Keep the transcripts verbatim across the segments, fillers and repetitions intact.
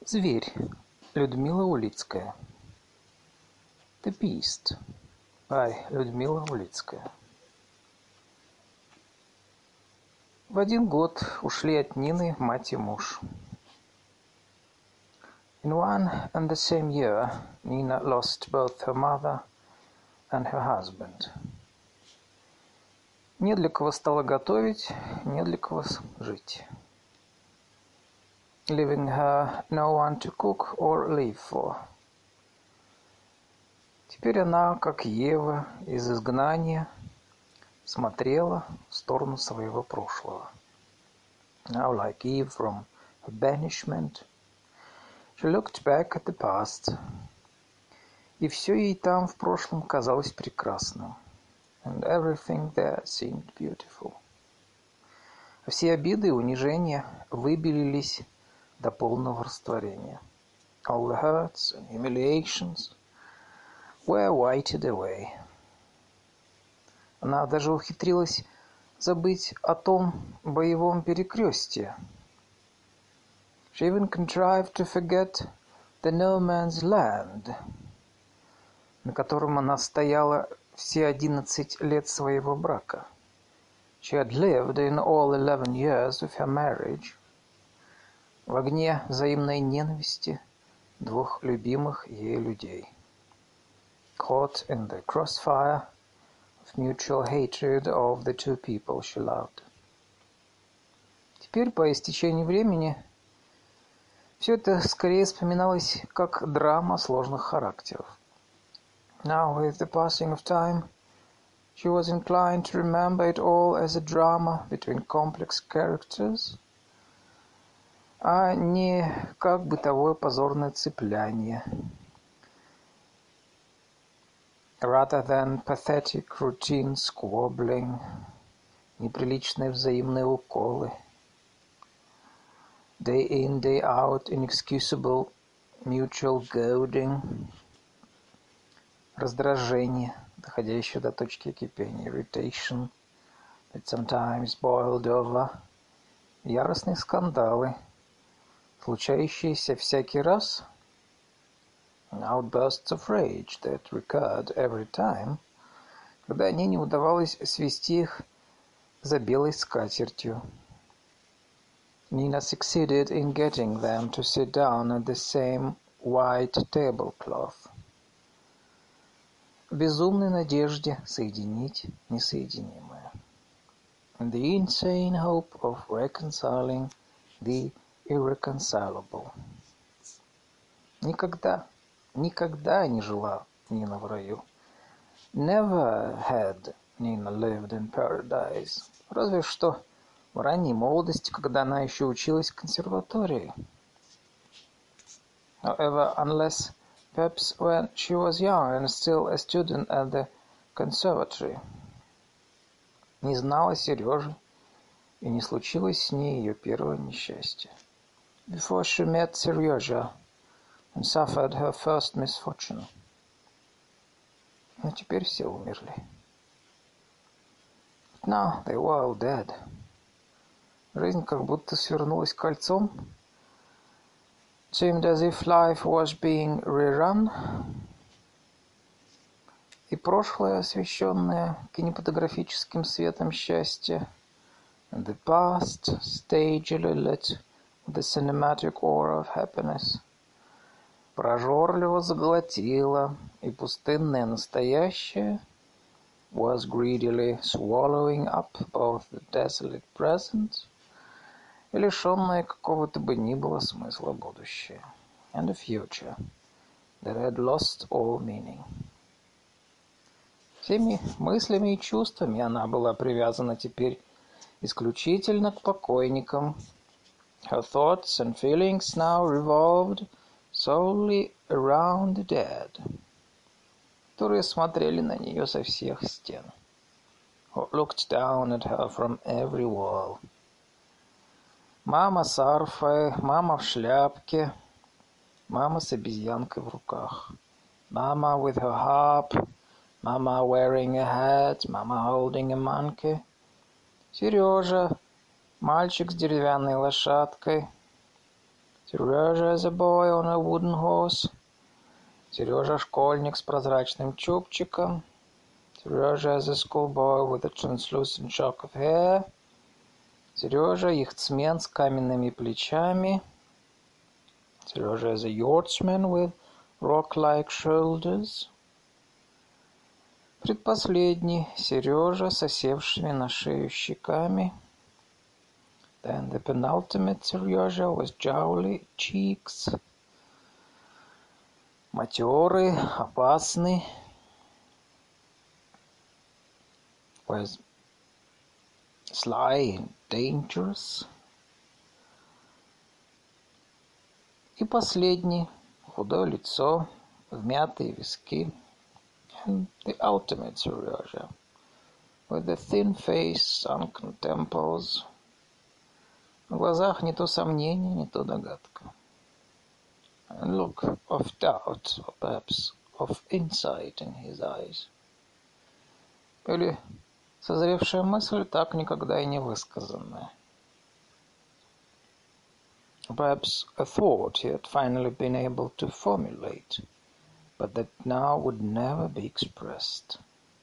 Зверь. Людмила Улицкая. The Beast. By Людмила Улицкая. В один год ушли от Нины мать и муж. In one and the same year, Nina lost both her mother and her husband. Не для кого стало готовить, не для кого жить. Leaving her no one to cook or live for. Теперь она, как Ева из изгнания, смотрела в сторону своего прошлого. Now, like Eve from her banishment, she looked back at the past, и все ей там в прошлом казалось прекрасным. And everything there seemed beautiful. Все обиды и унижения выбелились до полного растворения. All the hurts and humiliations were whited away. Она даже ухитрилась забыть о том боевом перекрестье. She even contrived to forget the no man's land, на котором она стояла все одиннадцать лет своего брака. She had lived in all eleven years of her marriage. В огне взаимной ненависти двух любимых ей людей. Caught in the crossfire of mutual hatred of the two people she loved. Теперь, по истечении времени, все это скорее вспоминалось как драма сложных характеров. Now, with the passing of time, she was inclined to remember it all as a drama between complex characters, а не как бытовое позорное цепляние, rather than pathetic routine squabbling, неприличные взаимные уколы, day in, day out, inexcusable mutual goading, раздражение, доходящее до точки кипения, irritation, that sometimes boiled over, яростные скандалы, случающиеся всякий раз, outbursts of rage that recurred every time, когда ей не удавалось свести их за белой скатертью. Nina succeeded in getting them to sit down at the same white tablecloth. В безумной надежде соединить несоединимое. In the insane hope of reconciling the irreconcilable. Никогда, никогда не жила Нина в раю. Never had Nina lived in paradise. Разве что в ранней молодости, когда она еще училась в консерватории. However, unless perhaps when she was young and still a student at the conservatory. Не знала Сережи, и не случилось с ней ее первое несчастье. Before she met Seryoja and suffered her first misfortune. Но теперь все умерли. But now they were all dead. Жизнь как будто свернулась кольцом. It seemed as if life was being rerun. И прошлое, освещенное кинематографическим светом счастья, and the past, stagily lit with the cinematic aura of happiness, прожорливо заглотило, и пустынное настоящее was greedily swallowing up both the desolate present и лишенное какого-то бы ни было смысла будущее, and a future that had lost all meaning. Всеми мыслями и чувствами она была привязана теперь исключительно к покойникам. Her thoughts and feelings now revolved solely around the dead, которые смотрели на нее со всех стен, who looked down at her from every wall. Мама с арфой, мама в шляпке, мама с обезьянкой в руках. Mama with her harp, mama wearing a hat, mama holding a monkey. Сережа, мальчик с деревянной лошадкой. Serежа as a boy on a wooden horse. Сережа школьник с прозрачным чубчиком. Serежа as a schoolboy with a translucent shock of hair. Сережа яхтсмен с каменными плечами. Serежa as a yachtsman with rock-like shoulders. Предпоследний Сережа с осевшими на шею щеками. Then the penultimate Serежа with jowly cheeks. Матерый, опасный. Was sly and dangerous. И последний, худое лицо, вмятые виски. And the ultimate Serежа, with the thin face, sunken temples. В глазах не то сомнение, не то догадка. And look of doubt, or perhaps of insight in his eyes. Или созревшая мысль, так никогда и не высказанная. Perhaps a thought he had finally been able to formulate, but that now would never be expressed.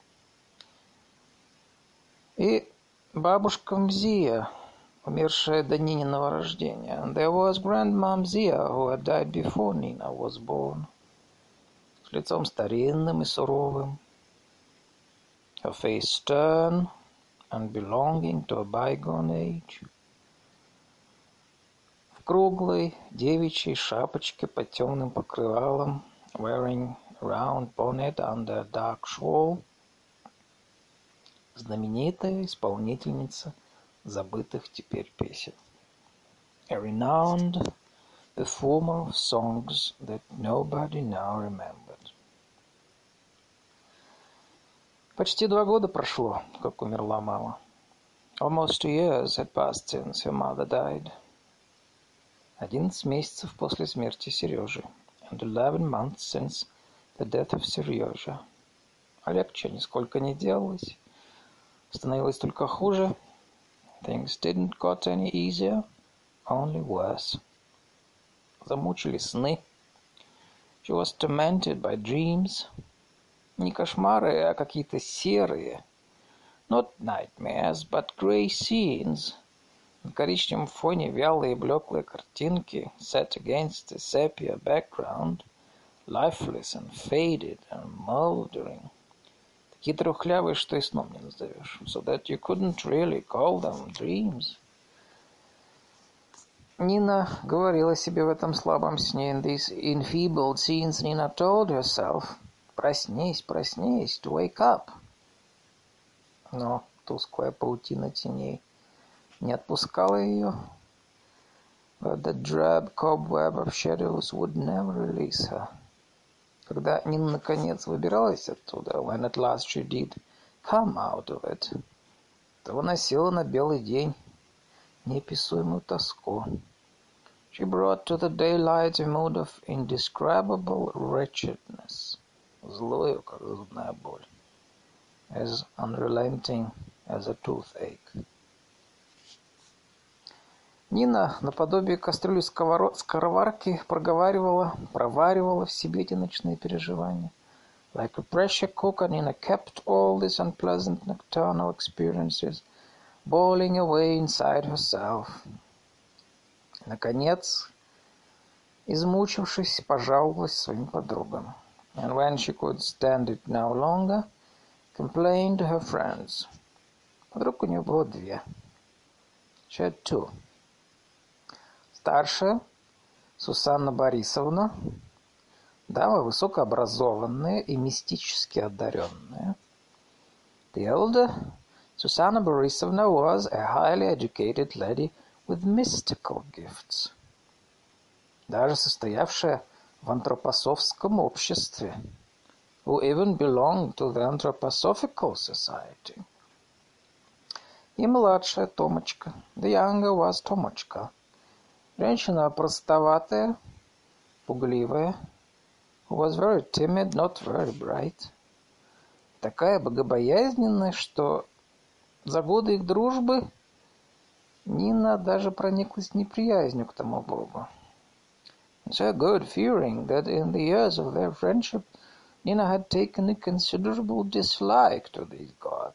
И бабушка Мзия, умершая до Нининого рождения. And there was Grandma Mzia, who had died before Nina was born. С лицом старинным и суровым. Her face stern and belonging to a bygone age. В круглой девичьей шапочке под темным покрывалом, wearing a round bonnet under a dark shawl. Знаменитая исполнительница забытых теперь песен. A renowned performer of songs that nobody now remembered. Почти два года прошло, как умерла мама. Almost two years had passed since her mother died. Одиннадцать месяцев после смерти Сережи. And eleven months since the death of Serежа. А легче нисколько не делалось. Становилось только хуже. Things didn't got any easier, only worse. Замучили сны. She was tormented by dreams. Не кошмары, а какие-то серые. Not nightmares, but grey scenes. На коричневом фоне вялые блеклые картинки, set against a sepia background, lifeless and faded and mouldering. Такие трухлявые, что и сном не назовешь. So that you couldn't really call them dreams. Нина говорила себе в этом слабом сне. In these enfeebled scenes, Nina told herself, проснись, проснись, to wake up. Но тусклая паутина теней не отпускала ее. But the drab cobweb of shadows would never release her. Когда Нина наконец выбиралась оттуда, when at last she did come out of it, то выносила на белый день неописуемую тоску. She brought to the daylight a mood of indescribable wretchedness, злую, как зубная боль, as unrelenting as a toothache. Нина, наподобие кастрюли скороварки, проговаривала, проваривала в себе эти ночные переживания. Like a pressure cooker, Nina kept all these unpleasant nocturnal experiences boiling away inside herself. Наконец, измучившись, пожаловалась своим подругам. And when she could stand it no longer, complained to her friends. Подруг у нее было две. She had two. Старшая, Сусанна Борисовна, дама высокообразованная и мистически одаренная. The elder, Susanna Borisovna, was a highly educated lady with mystical gifts, даже состоявшая в антропософском обществе, who even belonged to the Anthroposophical Society. И младшая Томочка, the younger was Томочка, женщина простоватая, пугливая, who was very timid, not very bright, такая богобоязненная, что за годы их дружбы Нина даже прониклась неприязнью к тому богу. so good, fearing that in the years of their friendship Nina had taken a considerable dislike to this god,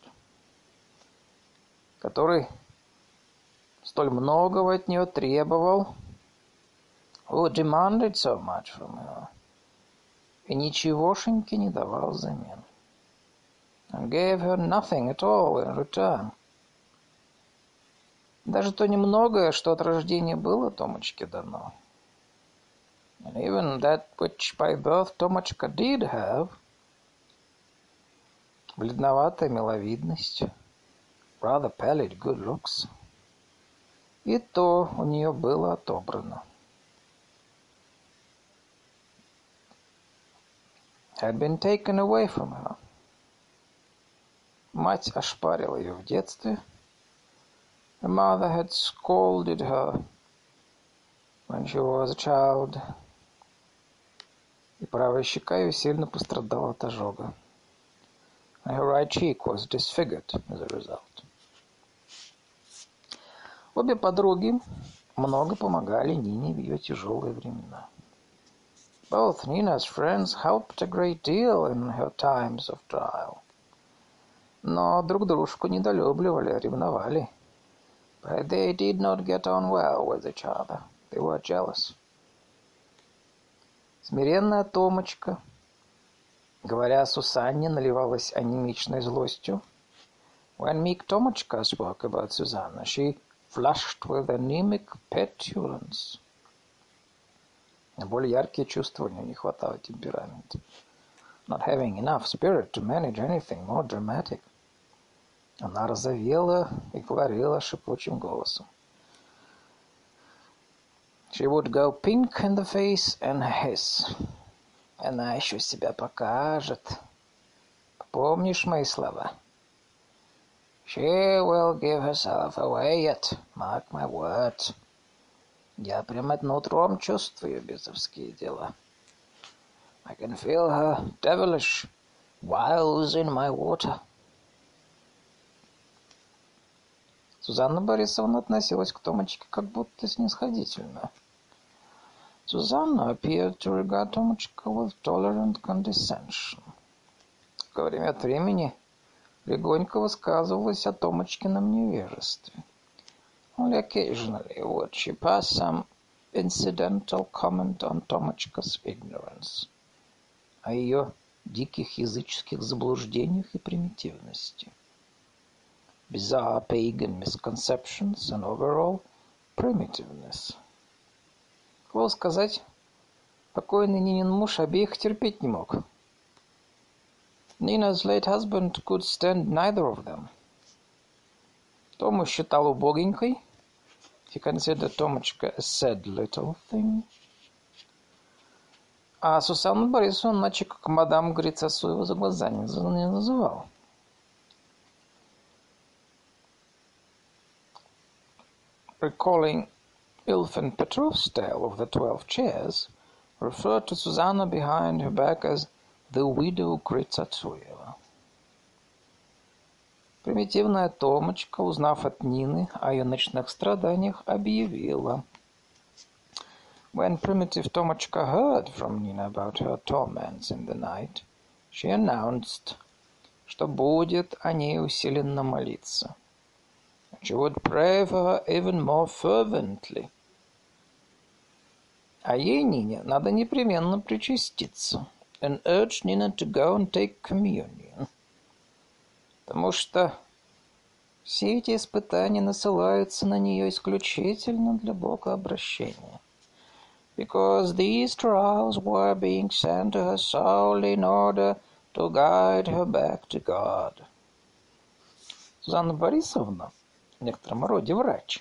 который столь многого от нее требовал, who demanded so much from her, и ничегошеньки не давал взамен, and gave her nothing at all in return. Даже то немногое, что от рождения было Томочке дано, and even that which by birth Томочка did have, бледноватая миловидность, rather pallid good looks, и то у нее было отобрано. Had been taken away from her. Мать ошпарила ее в детстве. Her mother had scolded her when she was a child. И правая щека ее сильно пострадала от ожога. And her right cheek was disfigured as a result. Обе подруги много помогали Нине в ее тяжелые времена. Both Nina's friends helped a great deal in her times of trial. Но друг дружку недолюбливали, ревновали. But they did not get on well with each other. They were jealous. Смиренная Томочка, говоря о Сусанне, наливалась анемичной злостью. When meek Tomочка spoke about Susanna, she flushed with anemic petulance. На более яркие чувства у нее не хватало темперамента. Not having enough spirit to manage anything more dramatic. Она розовела и говорила шипучим голосом. She would go pink in the face and hiss. Она еще себя покажет. Помнишь мои слова? She will give herself away yet, mark my words. Я прямо нутром чувствую бесовские дела. I can feel her devilish wiles in my water. Сузанна Борисовна относилась к Томочке как будто снисходительно. Susanna appeared to regard Томочка with tolerant condescension. Время от времени легонько высказывалась о Томочкином невежестве. Only occasionally would she pass some incidental comment on Томочка's ignorance, о ее диких языческих заблуждениях и примитивности, bizarre pagan misconceptions and overall primitiveness. Слово сказать, покойный Нинин муж обеих терпеть не мог. Nina's late husband could stand neither of them. Тому считал убогенькой. He considered Томочка a sad little thing. А Сусанну Борисовну иначе как мадам Грицасуева за глаза не называл. Recalling Ilfin Petrov's tale of the twelve chairs, referred to Susanna behind her back as the widow Грицасуева. Примитивная Томочка, узнав от Нины о ее ночных страданиях, объявила. When primitive Tomочка heard from Nina about her torments in the night, she announced, что будет о ней усиленно молиться. She would pray for her even more fervently. А ей, Нине, надо непременно причаститься, and urged Nina to go and take communion. Потому что все эти испытания насылаются на нее исключительно для богообращения. Because these trials were being sent to her solely in order to guide her back to God. Сузанна Борисовна в некотором роде врач.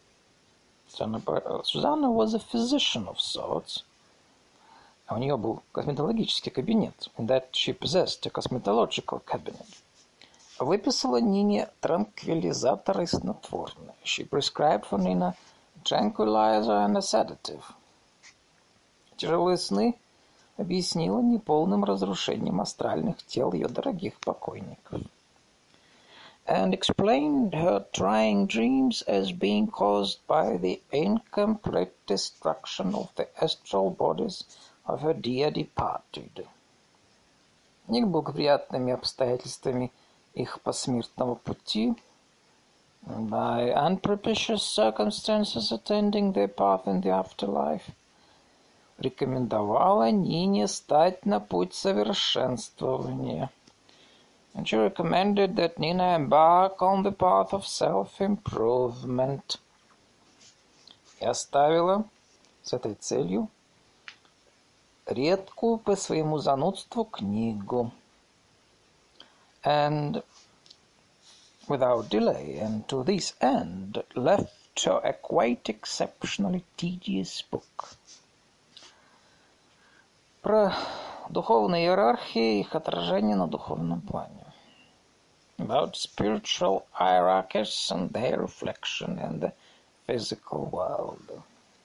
Сузанна was a physician of sorts. А у нее был косметологический кабинет. In that she possessed a cosmetological cabinet. Выписала Нине транквилизатор и снотворное. She prescribed for Nina a tranquilizer and a sedative. Тяжелые сны объяснила неполным разрушением астральных тел ее дорогих покойников. and explained her trying dreams as being caused by the incomplete destruction of the astral bodies of her dear departed. Неблагоприятными обстоятельствами их посмертного пути, by unpropitious circumstances attending their path in the afterlife, рекомендовала Нине стать на путь совершенствования. And she recommended that Nina embark on the path of self-improvement. И оставила с этой целью редкую по своему занудству книгу. And without delay, and to this end, left her a quite exceptionally tedious book. Про духовные иерархии и их отражение на духовном плане. About spiritual hierarchies and their reflection in the physical world.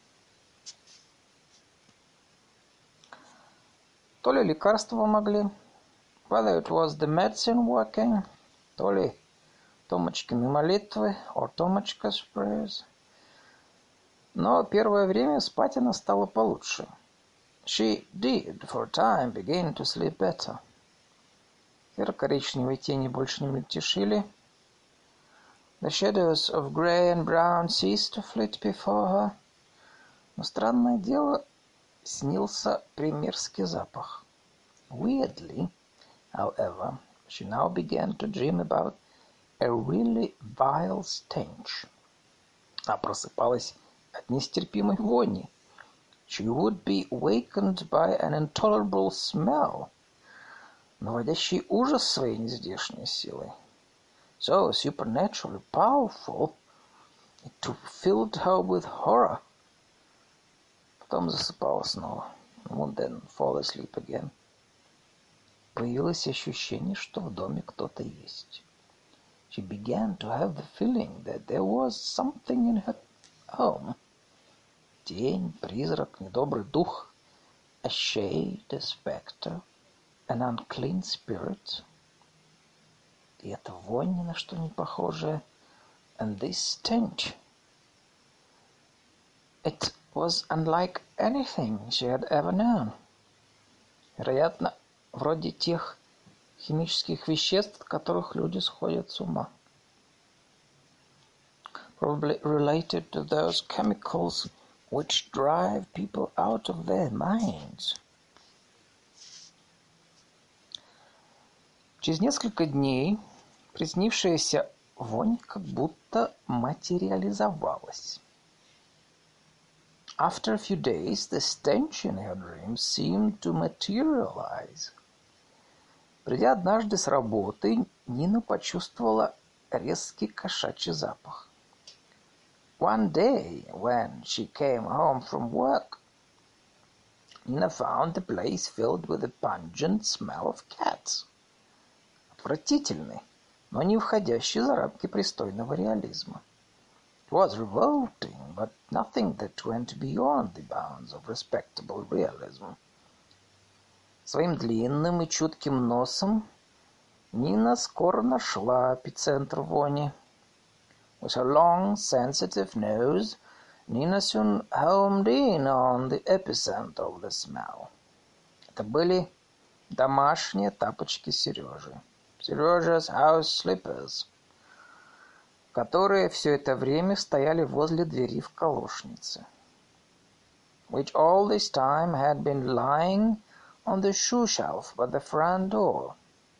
То ли лекарства помогли, whether it was the medicine working, то ли Томочкины молитвы, or Томочка's prayers. Но первое время спать она стала получше. She did, for a time, begin to sleep better. Серо-коричневые тени больше не мельтешили. The shadows of grey and brown ceased to flit before her. Но странное дело, снился примерский запах. Weirdly, however, she now began to dream about a really vile stench. А просыпалась от нестерпимой вони. She would be wakened by an intolerable smell, наводящий ужас своей нездешней силой. So supernaturally powerful, it filled her with horror. Потом засыпала снова. Would then fall asleep again. Появилось ощущение, что в доме кто-то есть. She began to have the feeling that there was something in her home. Тень, призрак, недобрый дух, a shade, a spectre, an unclean spirit. И эта вонь ни на что не похожая. And this stench. It was unlike anything she had ever known. Вероятно, вроде тех химических веществ, от которых люди сходят с ума. Probably related to those chemicals which drive people out of their minds. Через несколько дней приснившаяся вонь как будто материализовалась. After a few days, the stench in her dreams seemed to materialize. Придя однажды с работы, Нина почувствовала резкий кошачий запах. One day, when she came home from work, Nina found the place filled with a pungent smell of cats. Отвратительный, но не входящий за рамки пристойного реализма. It was revolting, but nothing that went beyond the bounds of respectable realism. Своим длинным и чутким носом Нина скоро нашла эпицентр вони. With her long, sensitive nose, Nina soon homed in on the epicenter of the smell. Это были домашние тапочки Сережи. Сережа's house slippers, которые все это время стояли возле двери в колошнице. Which all this time had been lying on the shoe shelf by the front door.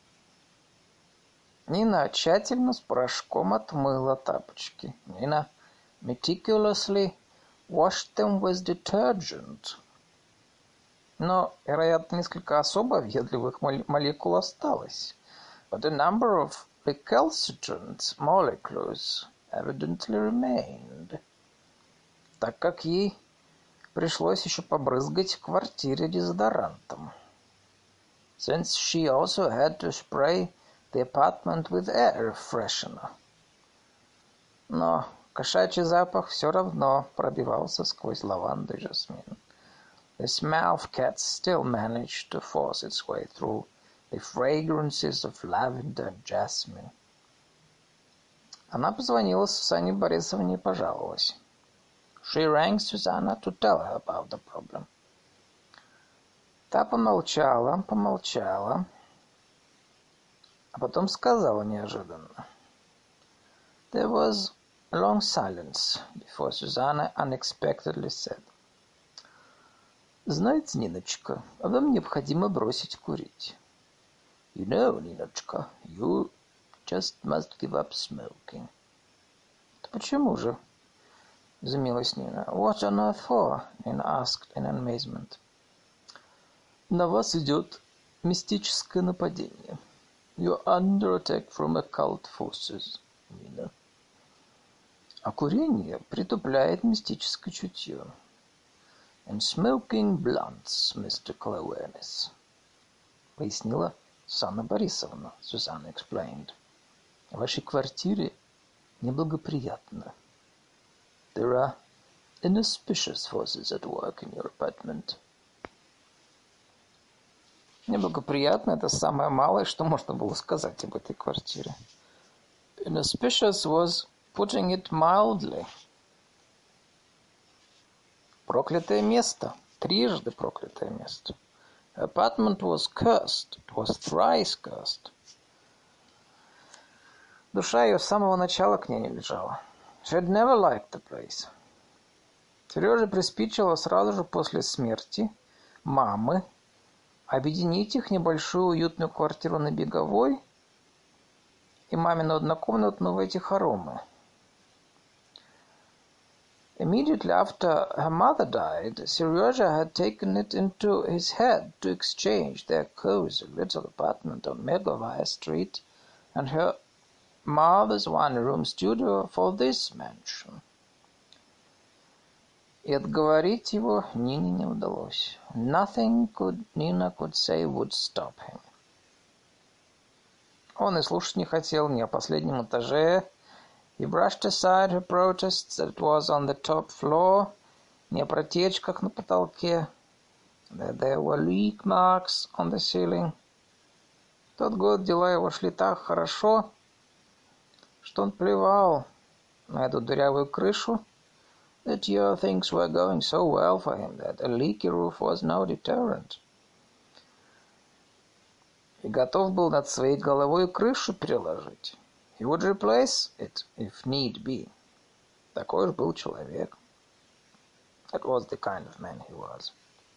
Нина тщательно с порошком отмыла тапочки. Нина meticulously washed them with detergent. Но, вероятно, несколько особо въедливых молекул осталось. But a number of recalcitrant molecules evidently remained. Так как ей пришлось еще побрызгать в квартире дезодорантом. Since she also had to spray the apartment with air freshener. Но кошачий запах все равно пробивался сквозь лаванду и жасмин. The smell of cats still managed to force its way through the fragrances of lavender and jasmine. Она позвонила Сусанне Борисовне и пожаловалась. She rang Susanna to tell her about the problem. Та помолчала, помолчала, а потом сказала неожиданно. There was a long silence before Susanna unexpectedly said. Знаете, Ниночка, вам необходимо бросить курить. You know, Ниночка, you just must give up smoking. Да почему же? Изумилась Нина. What on earth for? Nina asked in amazement. На вас идет мистическое нападение. You're under attack from occult forces, Nina. А курение притупляет мистическое чутье. And smoking blunts mystical awareness. Пояснила Сусанна Борисовна. Susanna explained. В вашей квартире неблагоприятно. There are inauspicious forces at work in your apartment. Неблагоприятно — это самое малое, что можно было сказать об этой квартире. Inauspicious was putting it mildly. Проклятое место. Трижды проклятое место. Apartment was cursed. It was thrice cursed. Душа ее с самого начала к ней не лежала. She had never liked the place. Сереже приспичило сразу же после смерти мамы объединить их небольшую уютную квартиру на Беговой и мамину однокомнатную в эти хоромы. Immediately after her mother died, Seryoja had taken it into his head to exchange their cozy little apartment on Megovaya Street and her mother's one-room studio for this mansion. И отговорить его Нине не удалось. Nothing could, Nina could say would stop him. Он и слушать не хотел ни о последнем этаже. He brushed aside her protests that it was on the top floor, ни о протечках на потолке, that there were leak marks on the ceiling. В тот год дела его шли так хорошо, что он плевал на эту дырявую крышу. That year things were going so well for him that a leaky roof was no deterrent. И готов был над своей головой крышу переложить. He would replace it if need be. Такой уж был человек. That was the kind of man he was.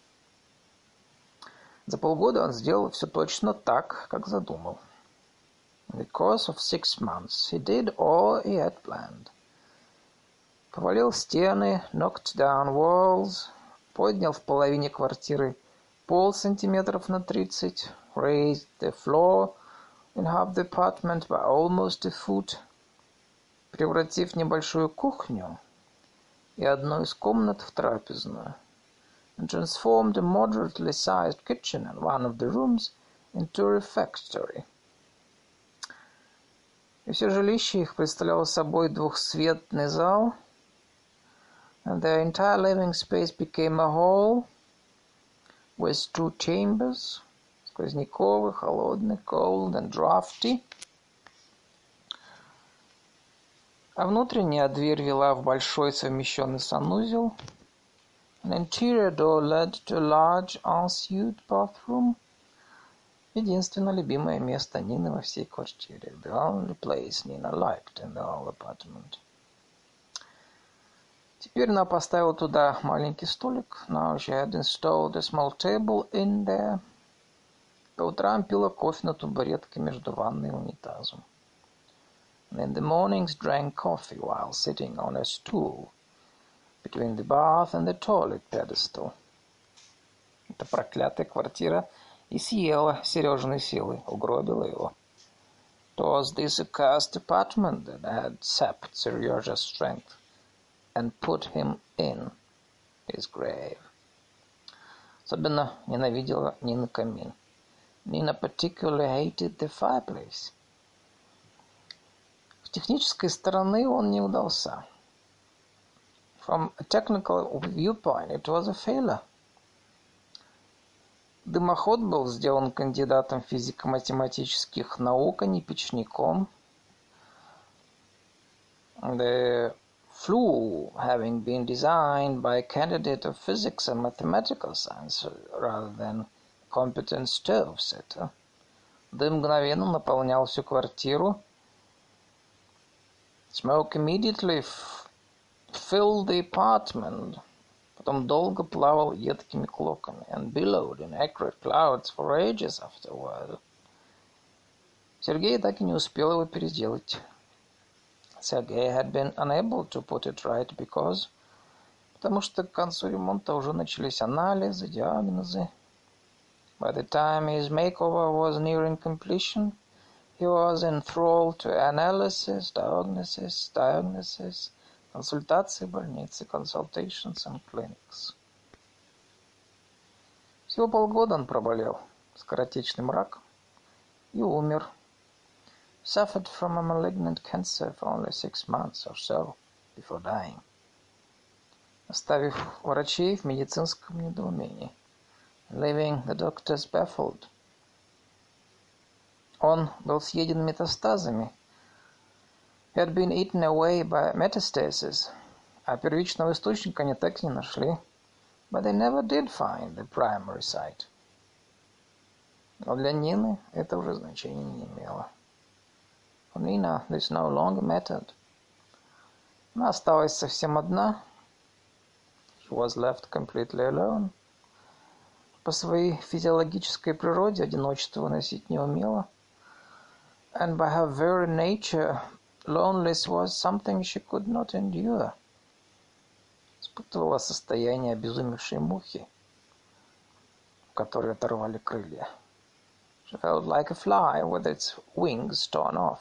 За полгода он сделал все точно так, как задумал. In the course of six months, he did all he had planned. Повалил стены, knocked down walls, поднял в половине квартиры пол сантиметров на тридцать, raised the floor in half the apartment by almost a foot, превратив небольшую кухню и одну из комнат в трапезную, and transformed a moderately sized kitchen and one of the rooms into a refectory. И все жилище их представляло собой двухсветный зал, and their entire living space became a hall with two chambers, сквозняковый, холодный, cold and drafty. А внутренняя дверь вела в большой совмещенный санузел. An interior door led to a large ensuite bathroom. Единственное любимое место Нины во всей квартире. The only place Nina liked in the whole apartment. Теперь она поставила туда маленький столик. Now she had installed a small table in there. По утрам пила кофе на табуретке между ванной и унитазом. And in the mornings drank coffee while sitting on a stool between the bath and the toilet pedestal. Эта проклятая квартира и съела Сережиной силы, угробила его. It was this accursed apartment that had sapped Seryoja's strength and put him in his grave. Особенно ненавидела Нина камин. Nina particularly hated the fireplace. С технической стороны он не удался. From a technical viewpoint, it was a failure. Дымоход был сделан кандидатом физико-математических наук, а не печником. The flue having been designed by a candidate of physics and mathematical science rather than competent stove setter. Дым мгновенно наполнял всю квартиру. Smoke immediately f- filled the apartment. Потом долго плавал едкими клоками and billowed in accurate clouds for ages afterward. Сергей так и не успел его переделать. Sergei had been unable to put it right because, потому что к концу ремонта уже начались анализы, диагнозы. By the time his makeover was nearing completion, he was enthralled to analysis, diagnosis, diagnosis, консультации больницы, consultations and clinics. Всего полгода он проболел скоротечным раком и умер. Suffered from a malignant cancer for only six months or so before dying, оставив врачей в медицинском недоумении, leaving the doctors baffled. Он был съеден метастазами. He had been eaten away by metastasis, а первичного источника они так и не нашли. But they never did find the primary site. Но для Нины это уже значения не имело. For Nina, this no longer mattered. Она осталась совсем одна. She was left completely alone. По своей физиологической природе одиночество выносить не умела. And by her very nature, loneliness was something she could not endure. Испытывала состояние обезумевшей мухи, у которой оторвали крылья. She felt like a fly with its wings torn off.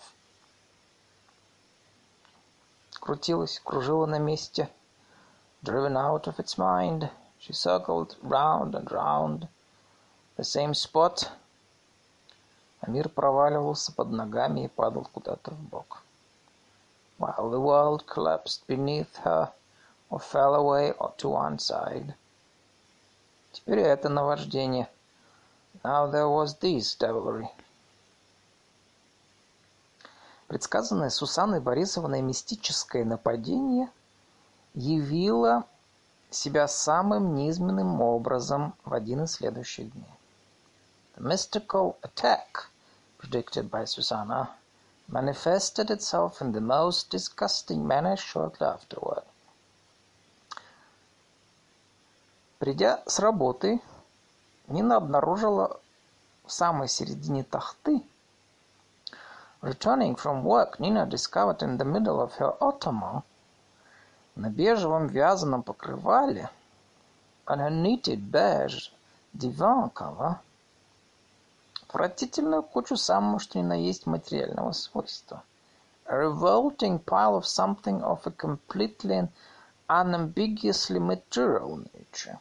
Крутилась, кружила на месте. Driven out of its mind, she circled round and round the same spot. А мир проваливался под ногами и падал куда-то вбок. While the world collapsed beneath her or fell away to one side. Теперь это наваждение. Now there was this devilry. Предсказанное Сусанной Борисовной мистическое нападение явило себя самым низменным образом в один из следующих дней. The mystical attack, predicted by Susanna, manifested itself in the most disgusting manner shortly afterward. Придя с работы, Нина обнаружила в самой середине тахты. Returning from work, Nina discovered in the middle of her ottoman, на бежевом вязаном покрывале, on her knitted beige divan cover, отвратительную кучу самого что ни на есть материального свойства. A revolting pile of something of a completely and unambiguously material nature.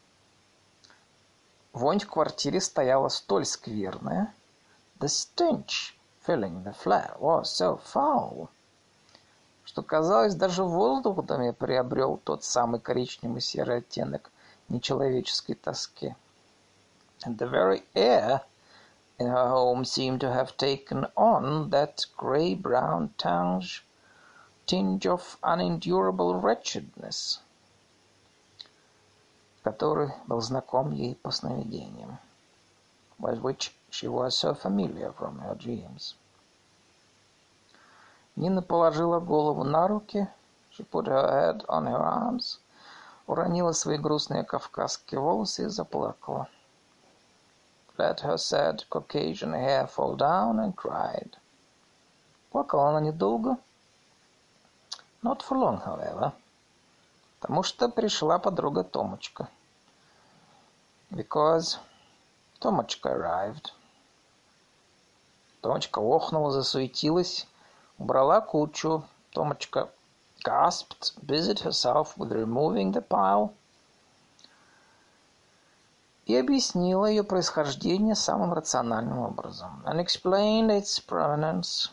Вонь в квартире стояла столь скверная. The stench filling the flat was so foul, что, казалось, даже воздух в доме приобрел тот самый коричневый серый оттенок нечеловеческой тоски. And the very air in her home seemed to have taken on that grey-brown tinge, tinge of unendurable wretchedness, который был знаком ей по сновидениям, with which she was so familiar from her dreams. Нина положила голову на руки, she put her head on her arms, уронила свои грустные кавказские волосы и заплакала. Let her sad Caucasian hair fall down and cried. Плакала она недолго. Not for long, however. Потому что пришла подруга Томочка. Because Томочка arrived. Томочка охнула, засуетилась, убрала кучу. Томочка gasped, busied herself with removing the pile, и объяснила ее происхождение самым рациональным образом. And explained its provenance.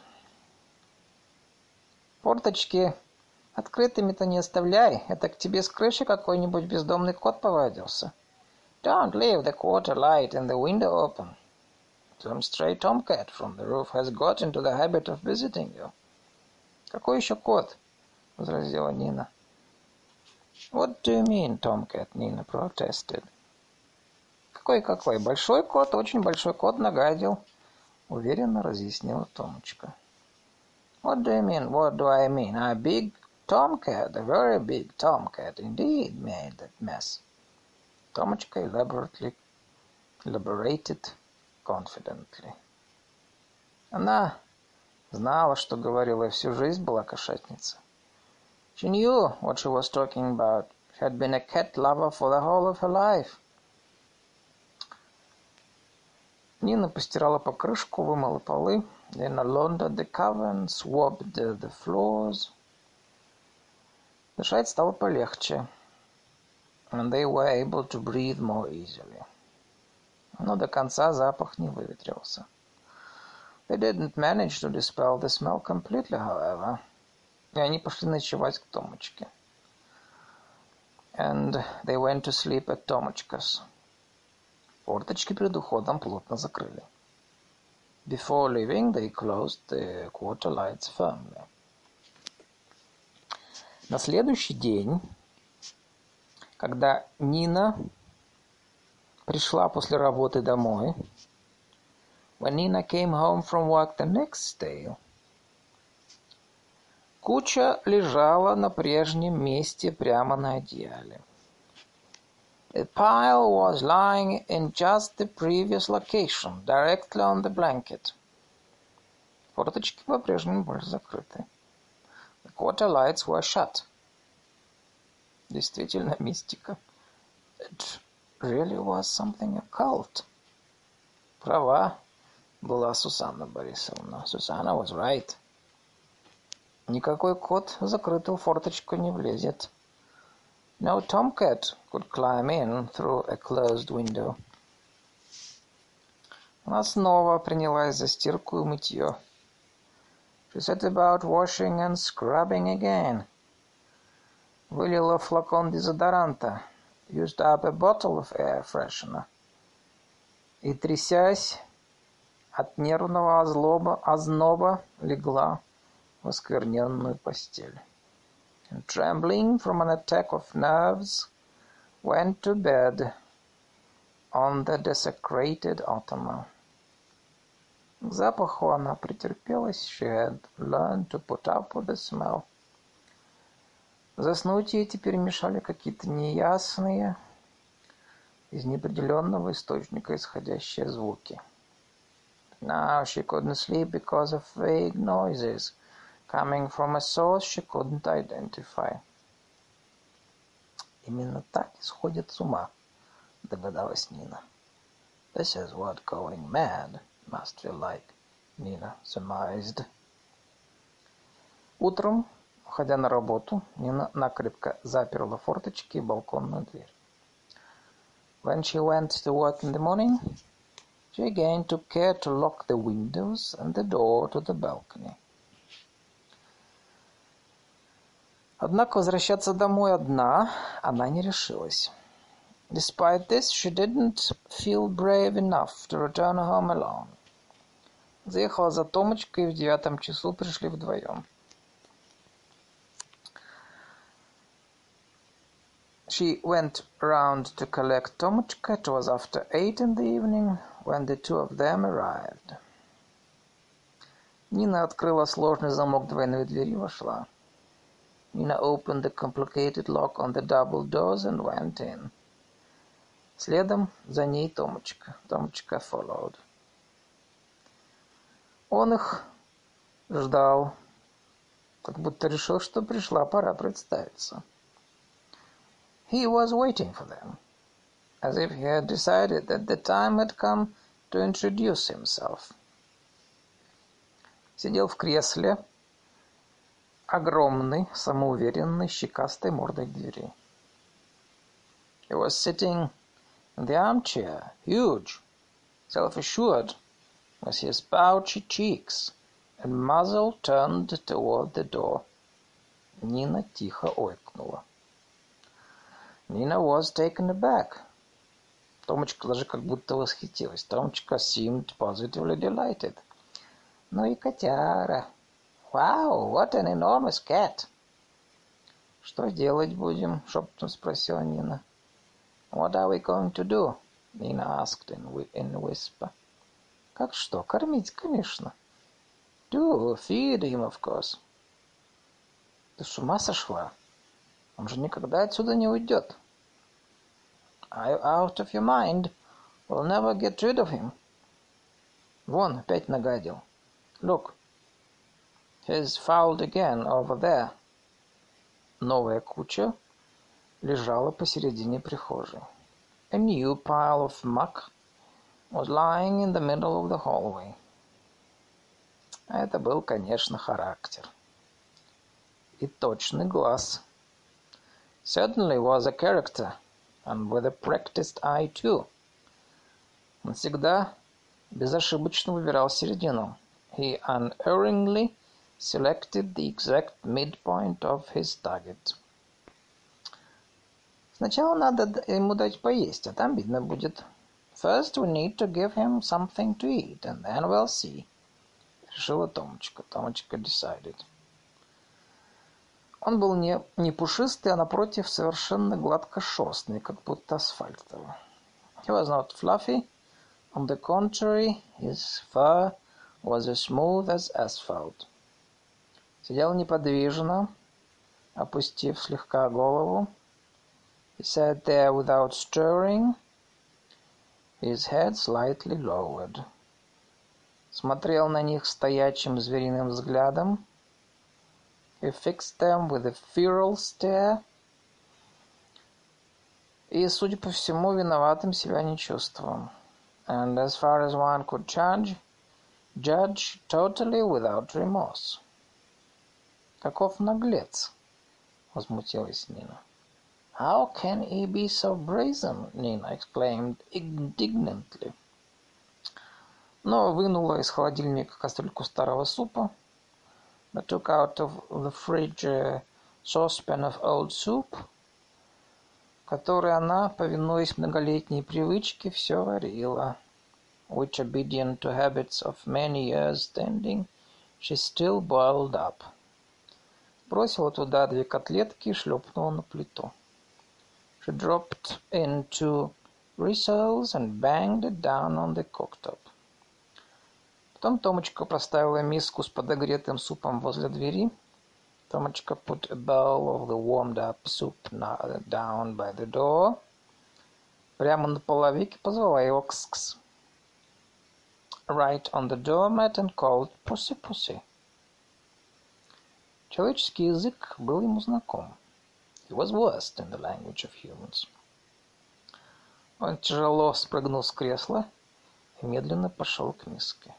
Форточки открытыми-то не оставляй, это к тебе с крыши какой-нибудь бездомный кот повадился. Don't leave the quarter light and the window open. Some stray tomcat from the roof has got into the habit of visiting you. Какой еще кот? возразила Нина. What do you mean, Tomcat? Nina protested. Какой-какой? Большой кот, очень большой кот нагадил, уверенно разъяснила Томочка. What do you mean? What do I mean? A big tomcat, a very big tomcat, indeed, made that mess. Томочка elaborately, elaborated confidently. Она знала, что говорила, и всю жизнь была кошатница. She knew what she was talking about. She had been a cat lover for the whole of her life. Нина постирала покрышку, вымыла полы. Nina laundered the cover and swabbed the floors. Дышать стало полегче. And they were able to breathe more easily. Но до конца запах не выветрился. They didn't manage to dispel the smell completely, however. И они пошли ночевать к Томочке. And they went to sleep at Tomochka's. Форточки перед уходом плотно закрыли. Before leaving, they closed the quarter lights firmly. На следующий день, когда Нина пришла после работы домой, when Nina came home from work the next day, куча лежала на прежнем месте прямо на одеяле. The pile was lying in just the previous location, directly on the blanket. Форточки по-прежнему были закрыты. The quarter lights were shut. Действительно мистика. It really was something occult. Права была Сусанна Борисовна. Сусанна was right. Никакой кот в закрытую форточку не влезет. No tomcat could climb in through a closed window. Она снова принялась за стирку и мытье. She set about washing and scrubbing again. Вылила флакон дезодоранта. Used up a bottle of air freshener. И, трясясь от нервного озлоба, озноба, легла в оскверненную постель. And trembling from an attack of nerves, went to bed on the desecrated ottoman. К запаху она претерпелась. She had learned to put up with the smell. Заснуть ей теперь мешали какие-то неясные, из неопределенного источника исходящие звуки. Now she couldn't sleep because of vague noises coming from a source she couldn't identify. Именно так и сходит с ума, догадалась Нина. This is what going mad must feel like, Nina surmised. Утром, уходя на работу, Нина накрепко заперла форточки и балконную дверь. When she went to work in the morning, she again took care to lock the windows and the door to the balcony. Однако возвращаться домой одна она не решилась. Despite this, she didn't feel brave enough to return home alone. Заехала за Томочкой, и в девятом часу пришли вдвоем. She went round to collect Tomochka. It was after eight in the evening when the two of them arrived. Нина открыла сложный замок двойной двери и вошла. Nina opened the complicated lock on the double doors and went in. Следом за ней Томочка. Томочка followed. Он их ждал, как будто решил, что пришла пора представиться. He was waiting for them, as if he had decided that the time had come to introduce himself. Сидел в кресле, огромный, самоуверенный, щекастой мордой к двери. He was sitting in the armchair, huge, self-assured, with his pouchy cheeks and muzzle turned toward the door. Нина тихо ойкнула. Nina was taken aback. Томочка даже как будто восхитилась. Томочка seemed positively delighted. Ну и котяра. Wow, what an enormous cat. «Что делать будем?» — шепотом спросила Нина. «What are we going to do?» — Nina asked in, in a whisper. «Как что? Кормить, конечно». «Do, feed him, of course». «Ты с ума сошла? Он же никогда отсюда не уйдет». «Are you out of your mind? We'll never get rid of him». «Вон, опять нагадил. Look, he's fouled again over there». Новая куча лежала посередине прихожей. A new pile of muck was lying in the middle of the hallway. Это был, конечно, характер. И точный глаз. Certainly was a character, and with a practiced eye too. Он всегда безошибочно выбирал середину. He unerringly selected the exact midpoint of his target. Сначала надо ему дать поесть, а там видно будет. First we need to give him something to eat, and then we'll see. Решила Томочка. Томочка decided. Он был не, не пушистый, а напротив совершенно гладкошерстный, как будто асфальтовый. He was not fluffy. On the contrary, his fur was as smooth as asphalt. Сидел неподвижно, опустив слегка голову. He sat there without stirring, his head slightly lowered. Смотрел на них стоячим звериным взглядом. He fixed them with a feral stare. И, судя по всему, виноватым себя не чувствовал. And as far as one could judge, judge totally without remorse. Каков наглец, возмутилась Нина. How can he be so brazen? Nina exclaimed indignantly. Но вынула из холодильника кастрюльку старого супа. But took out of the fridge a saucepan of old soup, который она, повинуясь многолетней привычке, все варила. Which, obedient to habits of many years standing, she still boiled up. Бросила туда две котлетки и шлепнула на плиту. She dropped in two rissoles and banged it down on the cooktop. Потом Томочка поставила миску с подогретым супом возле двери. Томочка put a bowl of the warmed-up soup down by the door. Прямо на половике позвала его кс-кс. Right on the doormat and called pussy-pussy. Человеческий язык был ему знаком. He was versed in the language of humans. Он тяжело спрыгнул с кресла и медленно пошел к миске.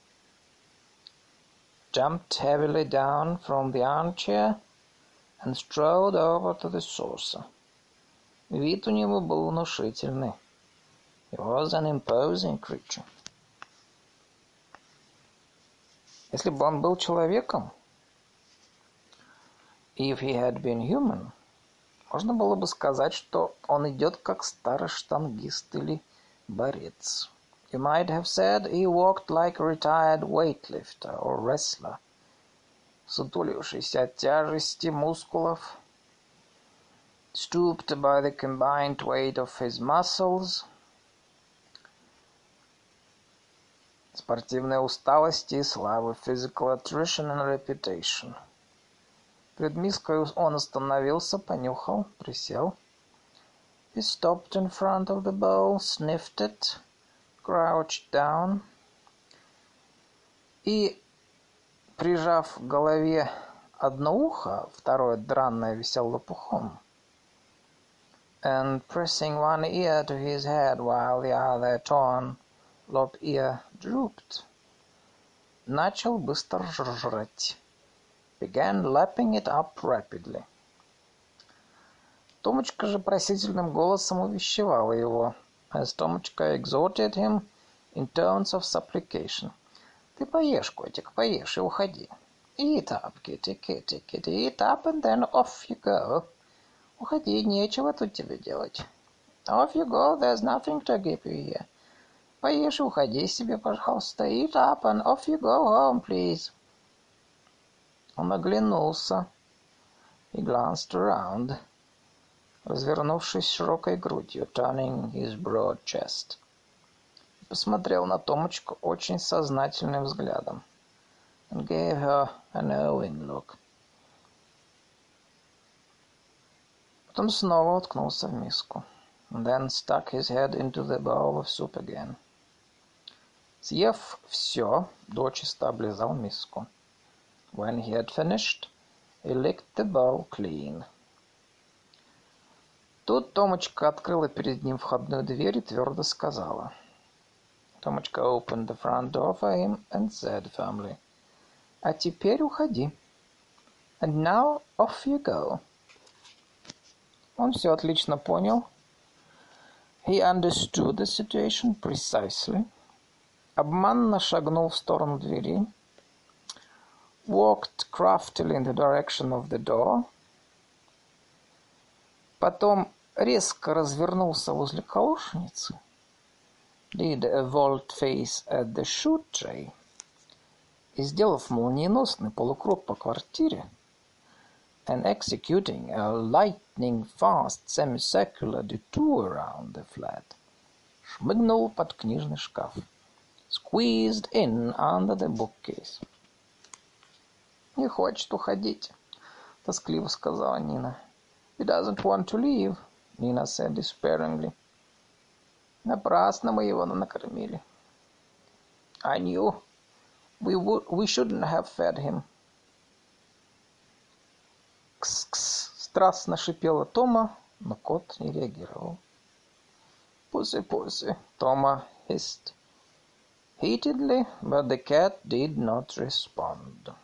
Jumped heavily down from the armchair and strode over to the saucer. Вид у него был внушительный. He was an imposing creature. Если бы он был человеком, if he had been human, можно было бы сказать, что он идет как старый штангист или борец. You might have said he walked like a retired weightlifter or wrestler, сутулившийся от тяжести мускулов, stooped by the combined weight of his muscles, спортивной усталости и славы, physical attrition and reputation. Перед миской он остановился, понюхал, присел. He stopped in front of the bowl, sniffed it, crouched down. И, прижав к голове одно ухо, второе дранное висело лопухом, and pressing one ear to his head while the other torn lop ear drooped, начал быстро жрать. Began lapping it up rapidly. Томочка же просительным голосом увещевала его, as Томочка exhorted him in tones of supplication. Ты поешь, котик, поешь и уходи. Eat up, kitty, kitty, kitty, eat up and then off you go. Уходи, нечего тут тебе делать. Off you go, there's nothing to keep you here. Поешь и уходи себе, пожалуйста. Eat up and off you go home, please. Он оглянулся. He glanced around, развернувшись широкой грудью, turning his broad chest. Посмотрел на Томочку очень сознательным взглядом, and gave her a knowing look. Потом снова уткнулся в миску, and then stuck his head into the bowl of soup again. Съев все, дочисто облизал миску. When he had finished, he licked the bowl clean. Тут Томочка открыла перед ним входную дверь и твердо сказала. Томочка opened the front door for him and said firmly, «А теперь уходи. And now off you go». Он все отлично понял. He understood the situation precisely. Обманно шагнул в сторону двери. Walked craftily in the direction of the door. Потом резко развернулся возле колошницы. Did a volte-face at the shoe tray. И, сделав молниеносный полукруг по квартире, and executing a lightning-fast semicircular detour around the flat, шмыгнул под книжный шкаф. Squeezed in under the bookcase. «Не хочет уходить», — тоскливо сказала Нина. «He doesn't want to leave», — Nina said despairingly. «Напрасно мы его накормили». «I knew we would, we shouldn't have fed him». «Кс-кс», — страстно шипела Тома, но кот не реагировал. «Pussy, pussy», — Тома hissed heatedly, but the cat did not respond.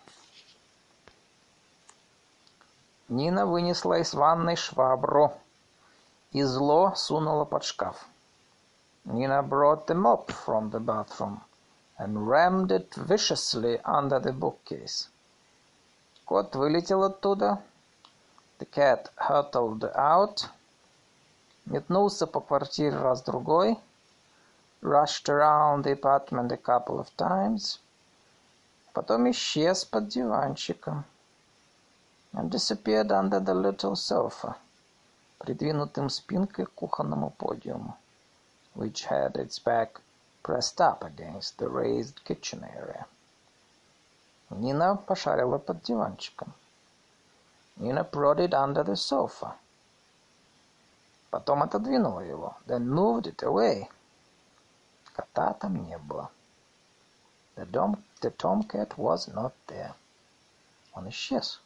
Нина вынесла из ванной швабру и зло сунула под шкаф. Nina brought the mop from the bathroom and rammed it viciously under the bookcase. Кот вылетел оттуда. The cat hurtled out. Метнулся по квартире раз-другой. Rushed around the apartment a couple of times. Потом исчез под диванчиком. And disappeared under the little sofa, придвинутым спинкой к кухонному подиуму, which had its back pressed up against the raised kitchen area. Нина пошарила под диванчиком. Nina prodded under the sofa. Потом отодвинула его, then moved it away. Кота там не было. The, dom- the tomcat was not there. Он исчез.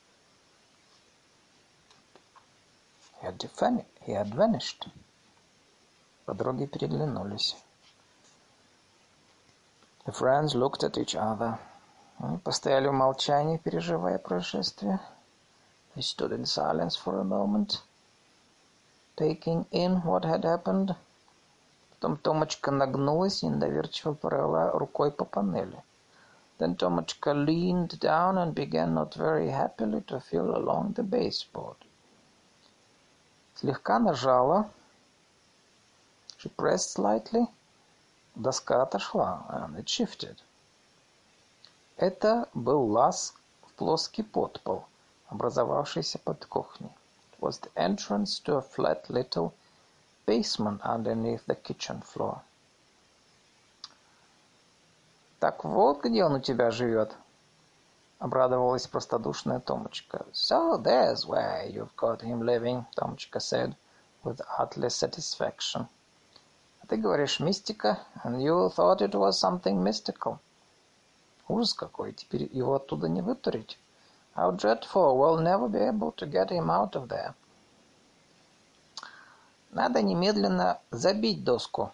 He had, defan- he had vanished. Подруги переглянулись. The friends looked at each other. Они постояли в молчании, переживая происшествие. They stood in silence for a moment, taking in what had happened. Потом Томочка нагнулась и недоверчиво провела рукой по панели. Then Tomочка leaned down and began not very happily to feel along the baseboard. Слегка нажала. She pressed slightly. Доска отошла, and it shifted. Это был лаз в плоский подпол, образовавшийся под кухней. It was the entrance to a flat little basement underneath the kitchen floor. Так вот, где он у тебя живет, обрадовалась простодушная Томочка. So there's where you've got him living, Томочка said with utterly satisfaction. А ты говоришь мистика, and you thought it was something mystical. Ужас какой, теперь его оттуда не вытурить. How dreadful, we'll never be able to get him out of there. Надо немедленно забить доску.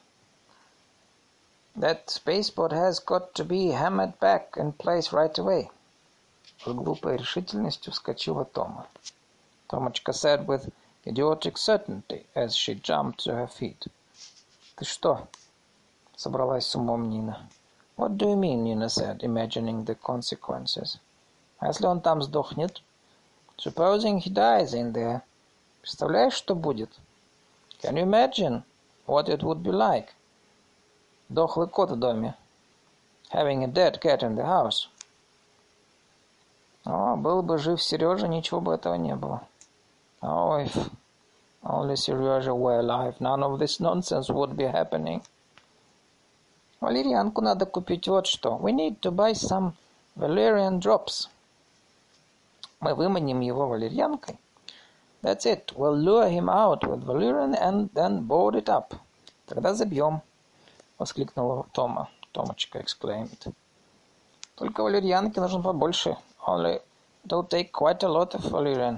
That baseboard has got to be hammered back in place right away. С глупой решительностью вскочила Тома. Томочка said with idiotic certainty as she jumped to her feet. Ты что? Собралась с умом Нина. What do you mean, Nina said, imagining the consequences. А если он там сдохнет? Supposing he dies in there. Представляешь, что будет? Can you imagine what it would be like? Дохлый кот в доме. Having a dead cat in the house. О, был бы жив Сережа, ничего бы этого не было. Oh, if only Serежа were alive, none of this nonsense would be happening. Валерьянку надо купить, вот что. We need to buy some valerian drops. Мы выманим его валерьянкой. That's it. We'll lure him out with valerian and then board it up. Тогда забьем, воскликнула Тома. Томочка exclaimed. Только валерьянки нужно побольше. Only it'll take quite a lot of valerian.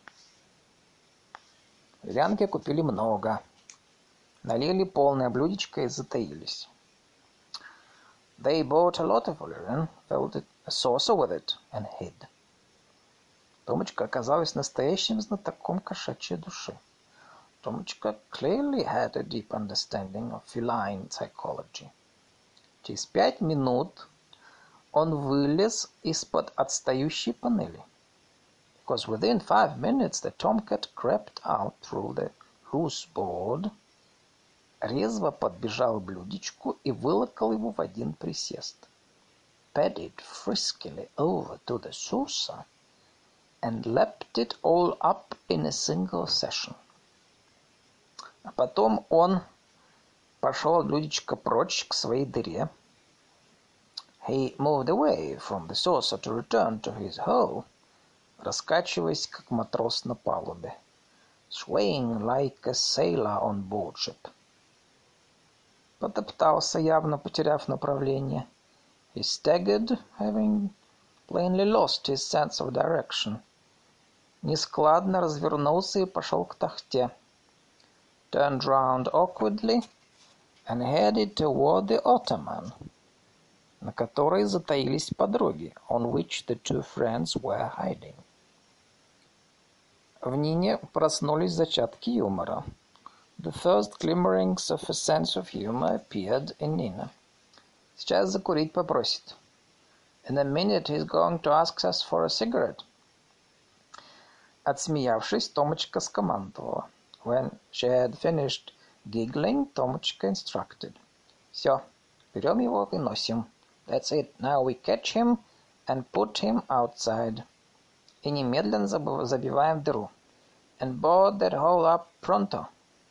Валерьянки купили много. Налили полное блюдечко и затаились. They bought a lot of valerian, filled a saucer with it, and hid. Томочка оказалась настоящим знатоком кошачьей души. Томочка clearly had a deep understanding of feline psychology. Через пять минут он вылез из-под отстающей панели. Because within five minutes the tomcat crept out through the loose board, резво подбежал к блюдечку и вылокал его в один присест. Padded friskily over to the saucer and lapped it all up in a single session. А потом он пошел от блюдечка прочь к своей дыре. He moved away from the saucer to return to his hole, раскачиваясь, как матрос на палубе, swaying like a sailor on board ship. Потоптался, явно потеряв направление. He staggered, having plainly lost his sense of direction. Нескладно развернулся и пошел к тахте. Turned round awkwardly and headed toward the ottoman, на которой затаились подруги, on which the two friends were hiding. В Нине проснулись зачатки юмора. The first glimmerings of a sense of humor appeared in Nina. Сейчас закурить попросит. In a minute he's going to ask us for a cigarette. Отсмеявшись, Томочка скомандовала. When she had finished giggling, Томочка instructed. Все, берем его и носим. That's it. Now we catch him and put him outside. И немедленно забиваем дыру. And board that hole up pronto.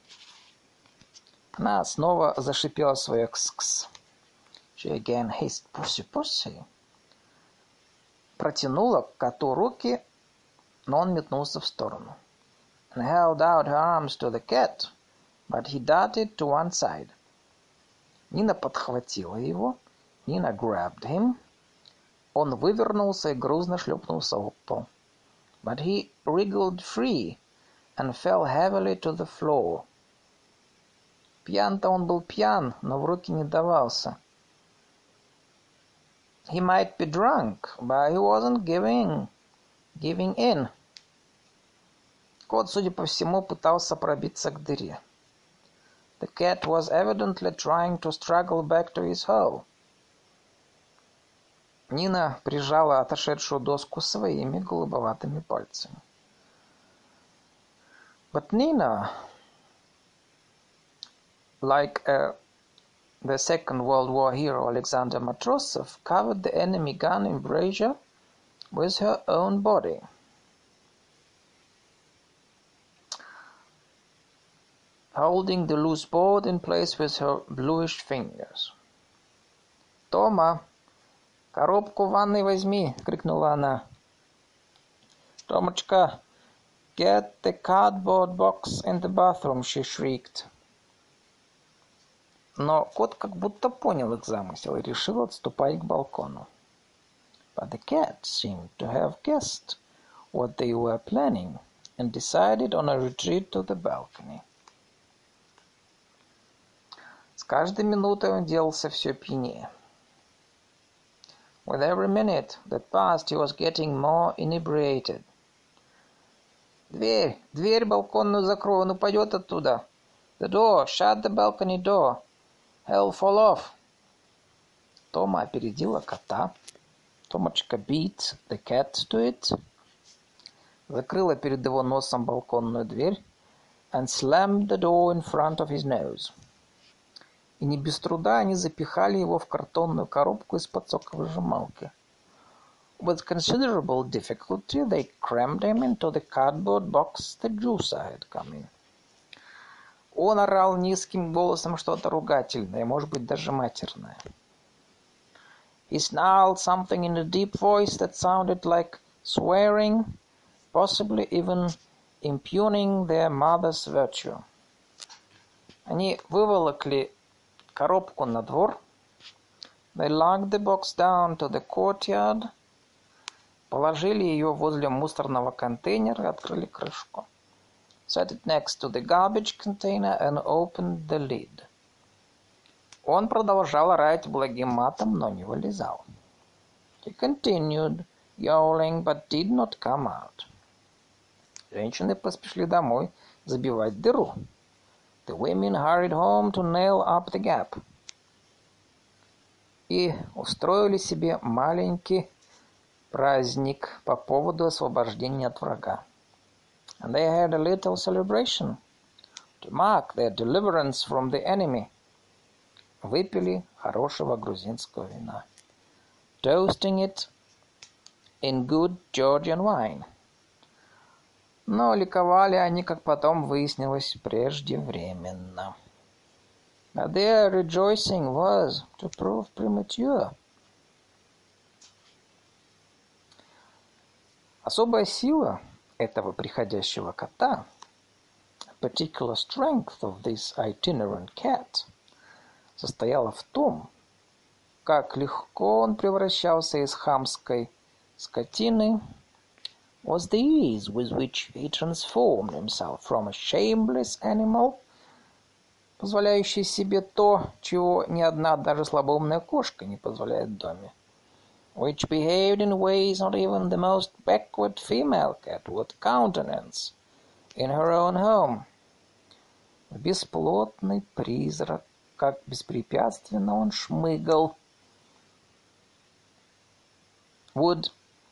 Она снова зашипела свое кс-кс. She again hissed pussy-pussy. Протянула к коту руки, но он метнулся в сторону. And held out her arms to the cat, but he darted to one side. Нина подхватила его. Нина grabbed him. Он вывернулся и грузно шлепнулся об пол. But he wriggled free and fell heavily to the floor. Пьян-то он был пьян, но в руки не давался. He might be drunk, but he wasn't giving, giving in. Кот, судя по всему, пытался пробиться к дыре. The cat was evidently trying to struggle back to his hole. Нина прижала отошедшую доску своими голубоватыми пальцами. But Nina, like uh, the Second World War hero Alexander Matrosov, covered the enemy gun embrasure with her own body. Holding the loose board in place with her bluish fingers. «Тома, коробку в ванной возьми!» — крикнула она. «Томочка, get the cardboard box in the bathroom!» — she shrieked. Но кот как будто понял их замысел и решил отступать к балкону. But the cat seemed to have guessed what they were planning and decided on a retreat to the balcony. С каждой минутой он делался все пьянее. With every minute that passed, he was getting more inebriated. «Дверь! Дверь балконную закрой, он упадет оттуда!» «The door! Shut the balcony door! He'll fall off!» Тома опередила кота. Томочка beat the cat to it. Закрыла перед его носом балконную дверь and slammed the door in front of his nose. И не без труда они запихали его в картонную коробку из-под соковыжималки. With considerable difficulty they crammed him into the cardboard box the Juicer had come in. Он орал низким голосом что-то ругательное, может быть, даже матерное. He snarled something in a deep voice that sounded like swearing, possibly even impugning their mother's virtue. Они выволокли коробку на двор. They lugged the box down to the courtyard. Положили ее возле мусорного контейнера и открыли крышку. Set it next to the garbage container and opened the lid. Он продолжал орать благим матом, но не вылезал. He continued yowling, but did not come out. Женщины поспешили домой забивать дыру. The women hurried home to nail up the gap. И устроили себе маленький праздник по поводу освобождения от врага. And they had a little celebration to mark their deliverance from the enemy. Выпили хорошего грузинского вина. Toasting it in good Georgian wine. Но ликовали они, как потом выяснилось, преждевременно. But their rejoicing was, to prove, premature. Особая сила этого приходящего кота, particular strength of this itinerant cat, состояла в том, как легко он превращался из хамской скотины, was the ease with which he transformed himself from a shameless animal, позволяющий себе то, чего ни одна даже слабоумная кошка не позволяет в доме, which behaved in ways not even the most backward female cat would countenance in her own home. Бесплотный призрак, как беспрепятственно он шмыгал, would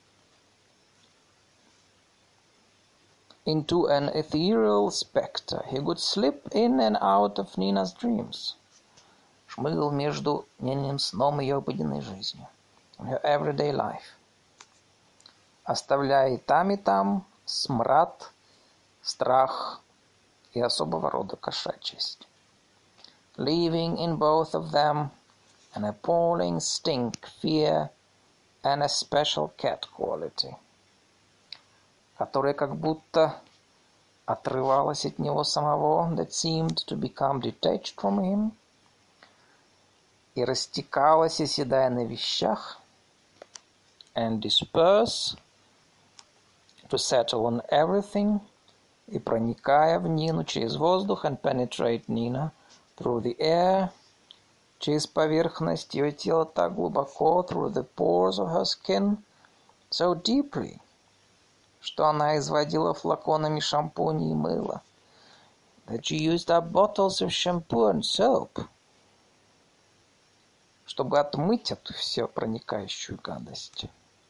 into an ethereal spectre. He would slip in and out of Nina's dreams. Шмыгал между дневным сном и ее обыденной жизнью. In her everyday life. Оставляя и там, и там смрад, страх и особого рода кошачьесть. Leaving in both of them an appalling stink, fear, and a special cat quality, которая как будто отрывалась от него самого, that seemed to become detached from him, и растекалась, оседая на вещах, and disperse, to settle on everything, и проникая в Нину через воздух, and penetrate Nina through the air, через поверхность ее тела так глубоко, through the pores of her skin, so deeply, что она изводила флаконами шампуня и мыла, that she used up bottles of shampoo and soap, чтобы отмыть эту все проникающую гадость.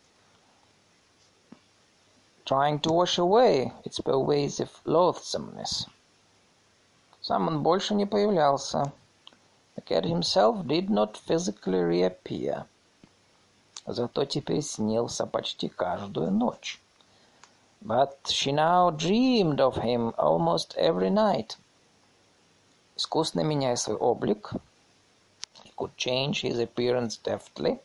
Trying to wash away its pervasive loathsomeness. Сам он больше не появлялся. The cat himself did not physically reappear. Зато теперь снился почти каждую ночь. But she now dreamed of him almost every night. Искусно меняя свой облик, he could change his appearance deftly.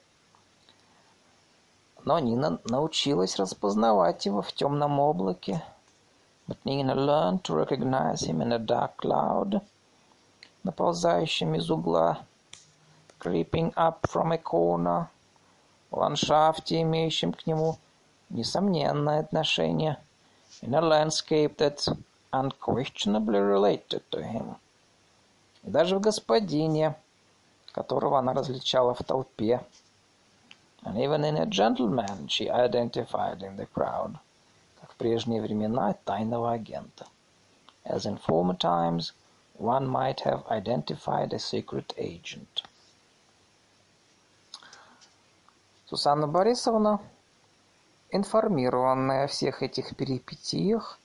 Но Нина научилась распознавать его в темном облаке. But Nina learned to recognize him in a dark cloud, наползающем из угла, creeping up from a corner, в ландшафте, имеющем к нему несомненное отношение, in a landscape that unquestionably related to him. И даже в господине, которого она различала в толпе, and even in a gentleman she identified in the crowd, как в прежние времена тайного агента. As in former times, one might have identified a secret agent. Сусанна Борисовна, информированная о всех этих перипетиях,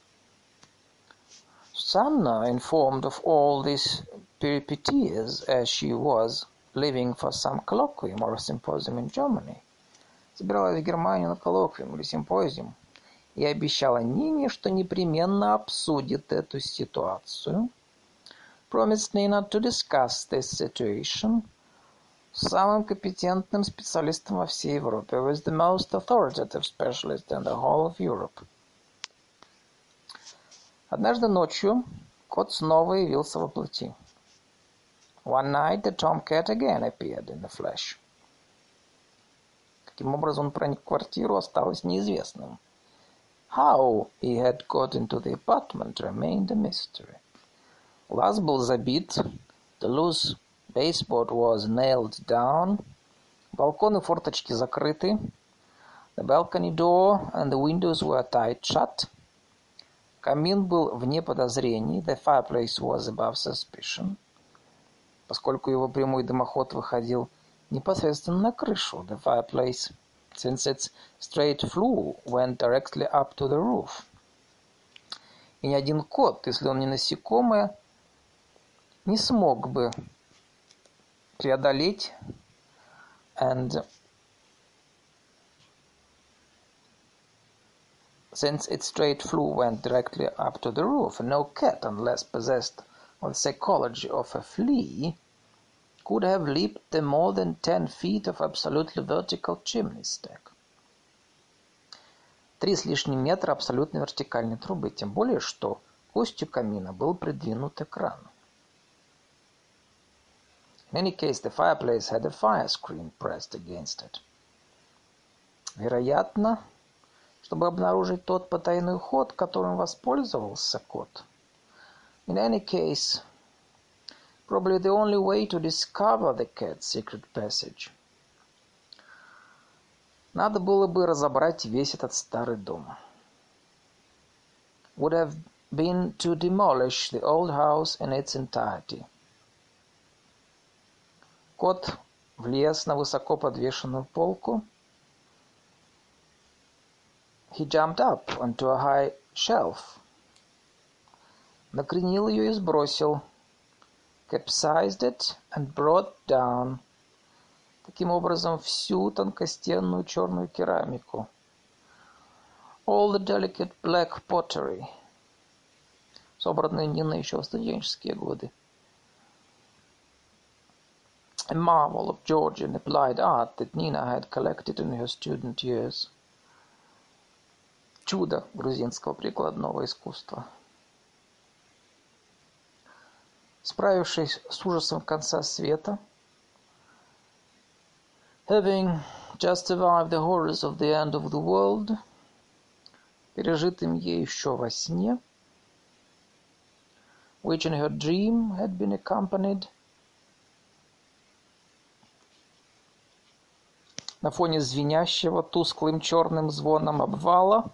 Susanna, informed of all these peripetties as she was living for some colloquium or symposium in Germany, собиралась в Германию на коллоквиум или симпозиум и обещала Нине, что непременно обсудит эту ситуацию, promised Nina to discuss this situation с самым компетентным специалистом во всей Европе, with the most authoritative specialist in the whole of Europe. Однажды ночью кот снова явился во плоти. One night the tomcat again appeared in the flesh. Каким образом он проник в квартиру, осталось неизвестным. How he had got into the apartment remained a mystery. Лаз был забит, the loose baseboard was nailed down, балконы и форточки закрыты, the balcony door and the windows were tight shut, камин был вне подозрений, the fireplace was above suspicion, поскольку его прямой дымоход выходил непосредственно на крышу, the fireplace, since its straight flue went directly up to the roof. И ни один кот, если он не насекомое, не смог бы преодолеть and since its straight flue went directly up to the roof, no cat, unless possessed of the psychology of a flea, could have leaped the more than ten feet of absolutely vertical chimney stack. Три с лишним метра абсолютно вертикальной трубы, тем более, что к устью камина был придвинут экран. In any case, the fireplace had a fire screen pressed against it. Вероятно, чтобы обнаружить тот потайной ход, которым воспользовался кот. In any case, probably the only way to discover the cat's secret passage. Надо было бы разобрать весь этот старый дом. Would have been to demolish the old house in its entirety. Кот влез на высоко подвешенную полку. He jumped up onto a high shelf. Накренил ее и сбросил. Capsized it and brought down. Таким образом, всю тонкостенную черную керамику. All the delicate black pottery. Собранную Ниной еще в студенческие годы. A marvel of Georgian applied art that Nina had collected in her student years. Чудо грузинского прикладного искусства. Справившись с ужасом конца света, having just survived the horrors of the end of the world, пережитым ей еще во сне, which in her dream had been accompanied на фоне звенящего тусклым черным звоном обвала,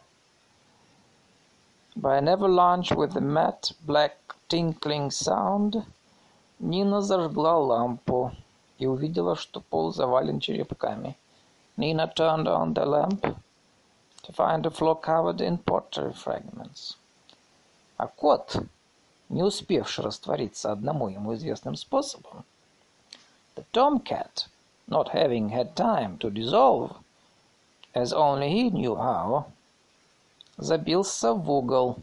by an avalanche with a matte black tinkling sound, Нина зажгла лампу и увидела, что пол завален черепками. Nina turned on the lamp to find the floor covered in pottery fragments. А кот, не успевший раствориться одному ему известным способом, the tomcat, not having had time to dissolve, as only he knew how, забился в угол,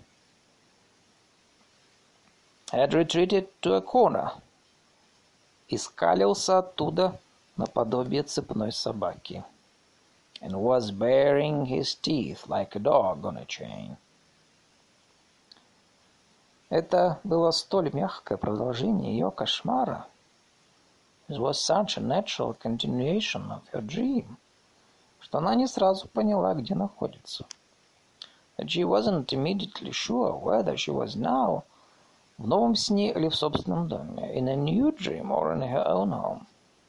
had retreated to a corner, и скалился оттуда наподобие цепной собаки, and was baring his teeth like a dog on a chain. Это было столь мягкое продолжение ее кошмара. It was such a natural continuation of her dream, что она не сразу поняла, где находится. That she wasn't immediately sure whether she was now в новом сне или в собственном доме, in a new dream or in her own home.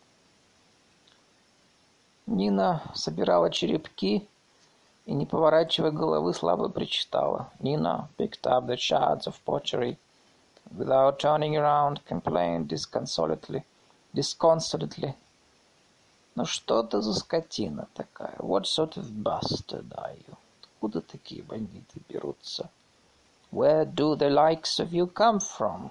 Нина собирала черепки и, не поворачивая головы, слабо причитала. Nina picked up the shards of pottery, without turning around, complained disconsolately, disconsolately. Ну что ты за скотина такая? What sort of bastard are you? Откуда такие бандиты берутся? Where do the likes of you come from?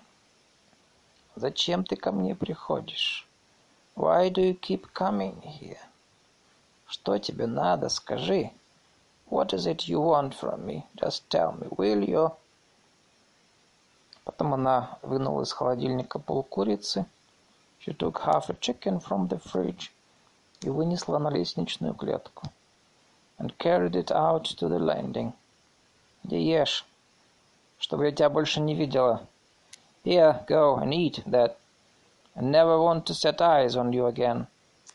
Зачем ты ко мне приходишь? Why do you keep coming here? Что тебе надо, скажи. What is it you want from me? Just tell me, will you? Потом она вынула из холодильника полкурицы. She took half a chicken from the fridge и вынесла на лестничную клетку. And carried it out to the landing. Иди ешь, чтобы я тебя больше не видела. Here, go and eat that. I never want to set eyes on you again.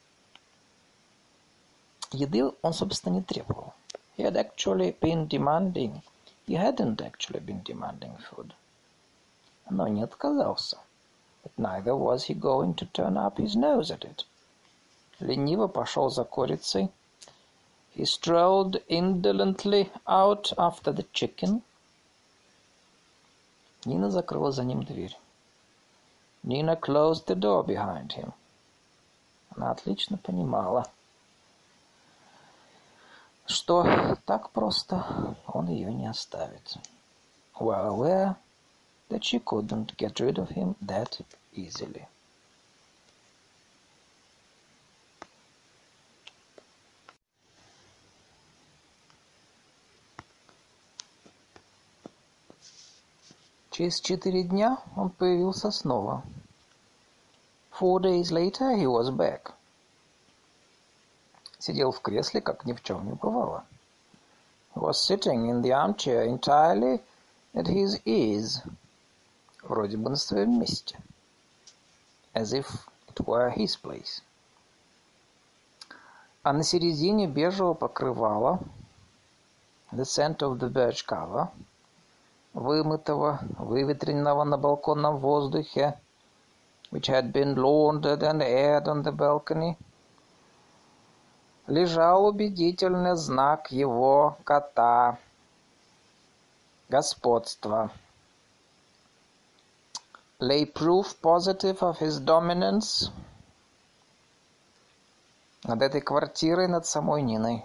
Еды он, собственно, не требовал. He had actually been demanding. He hadn't actually been demanding food. Но не отказался. But neither was he going to turn up his nose at it. Лениво пошел за курицей. He strolled indolently out after the chicken. Нина закрыла за ним дверь. Nina closed the door behind him. Она отлично понимала, что так просто он ее не оставит. Well aware that she couldn't get rid of him that easily. Через четыре дня он появился снова. Four days later he was back. Сидел в кресле, как ни в чем не бывало. He was sitting in the armchair entirely at his ease. Вроде бы на своем месте. As if it were his place. А на середине бежевого покрывала, the center of the birch cover, вымытого, выветренного на балконном воздухе, which had been laundered and aired on the balcony, лежал убедительный знак его кота, господства. Lay proof positive of his dominance над этой квартирой, над самой Ниной.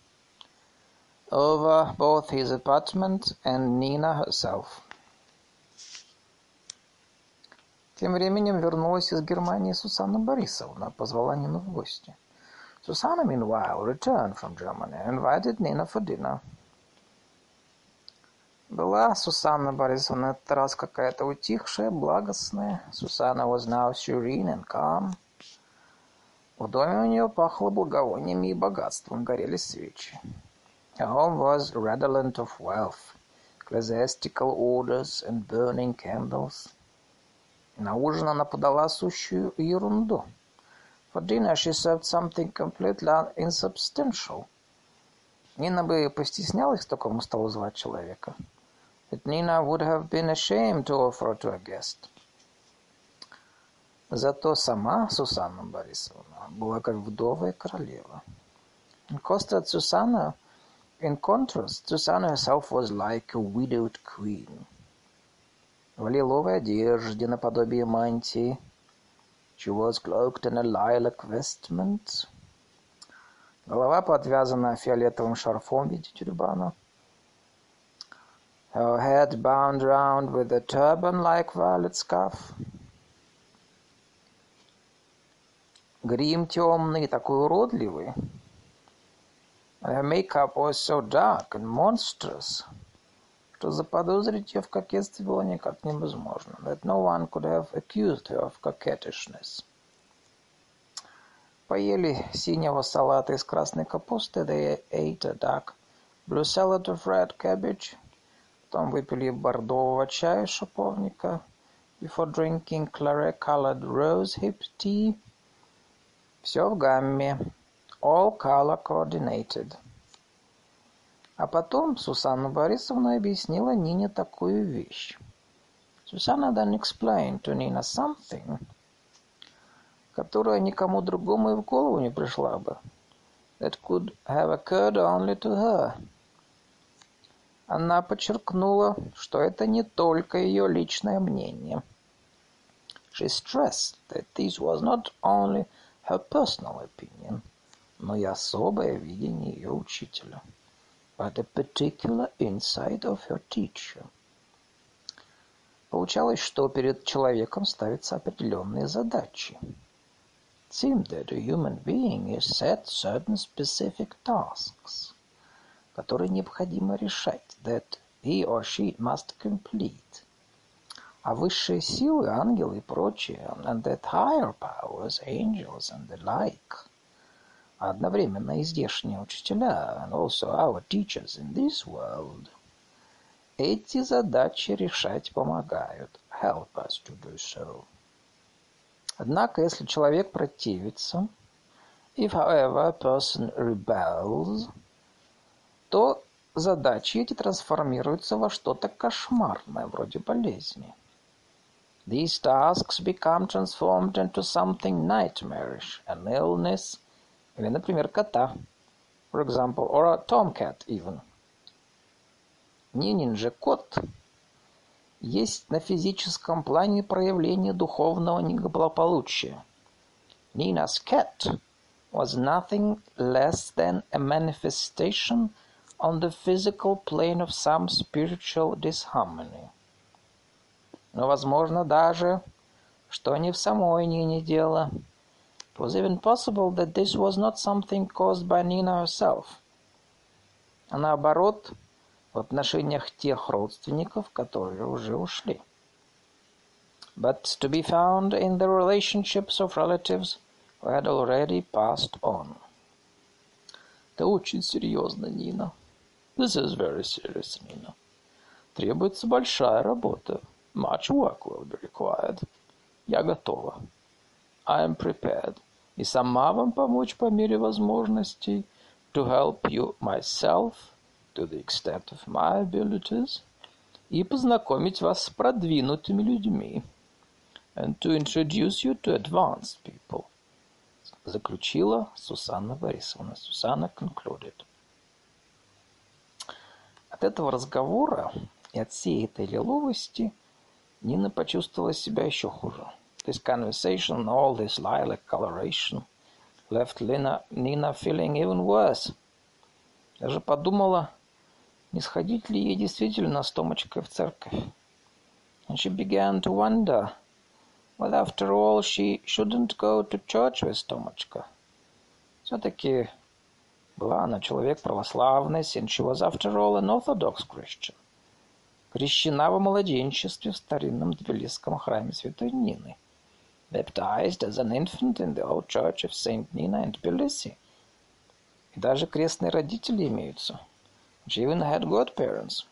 Over both his apartment and Nina herself. Тем временем вернулась из Германии Сусанна Борисовна, позвала Нину в гости. Susanna, meanwhile, returned from Germany and invited Nina for dinner. Была Сусанна Борисовна этот раз какая-то утихшая, благостная. Susanna was now serene and calm. В доме у нее пахло благовониями и богатством, горели свечи. Her home was redolent of wealth, ecclesiastical orders and burning candles. На ужин она подала сущую ерунду. For dinner she served something completely insubstantial. Нина бы постеснялась к такому столу звать человека. But Nina would have been ashamed to offer to a guest. Зато сама Сусанна Борисовна была как вдовая королева. In contrast, Susanna, in contrast, Susanna herself was like a widowed queen. В лиловой одежде наподобие мантии. She was cloaked in a lilac vestment. Голова подвязана фиолетовым шарфом в виде тюрбана. Her head bound round with a turban like violet scarf. Грим темный, такой уродливый. Her makeup was so dark and monstrous, что заподозрить ее в кокетстве было никак невозможно. That no one could have accused her of coquettishness. Поели синего салата из красной капусты. They ate a dark blue salad of red cabbage. Потом выпили бордового чая из шиповника. Before drinking claret-colored rose-hip tea. Все в гамме. All color coordinated. А потом Сусанна Борисовна объяснила Нине такую вещь. Susanna then explained to Nina something, которая никому другому и в голову не пришла бы. That could have occurred only to her. Она подчеркнула, что это не только ее личное мнение. She stressed that this was not only her personal opinion, но и особое видение ее учителя. But a particular insight of her teacher. Получалось, что перед человеком ставятся определенные задачи. seemed that a human being is set certain specific tasks, которые необходимо решать, that he or she must complete. А высшие силы, ангелы и прочие, and that higher powers, angels and the like, а одновременно и здешние учителя, and also our teachers in this world, эти задачи решать помогают, help us to do so. Однако, если человек противится, if, however, a person rebels, то задачи эти трансформируются во что-то кошмарное, вроде болезни. These tasks become transformed into something nightmarish, an illness, или, например, кота, for example, or a tomcat even. Нинин же кот есть на физическом плане проявление духовного неблагополучия. Nina's cat was nothing less than a manifestation on the physical plane of some spiritual disharmony. Но возможно даже, что не в самой Нине дело. It was even possible that this was not something caused by Nina herself, а наоборот, в отношениях тех родственников, которые уже ушли. But to be found in the relationships of relatives who had already passed on. Это очень серьезно, Нина. This is very serious, Nina. Требуется большая работа. Much work will be required. Я готова. I am prepared. И сама вам помочь по мере возможностей. To help you myself, to the extent of my abilities. И познакомить вас с продвинутыми людьми. And to introduce you to advanced people. Заключила Сусанна Борисовна. Сусанна concluded. От этого разговора и от всей этой лиловости Нина почувствовала себя еще хуже. This conversation, all this lilac coloration, left Lina, Nina feeling even worse. Даже подумала, не сходить ли ей действительно с Томочкой в церковь. And she began to wonder whether after all she shouldn't go to church with Tomochka. Все-таки была она человек православный, and she was after all an Orthodox Christian. Крещена во младенчестве в старинном тбилисском храме Святой Нины. Baptized as an infant in the old church of Saint Nina in Tbilisi. И даже крестные родители имеются. She even had godparents.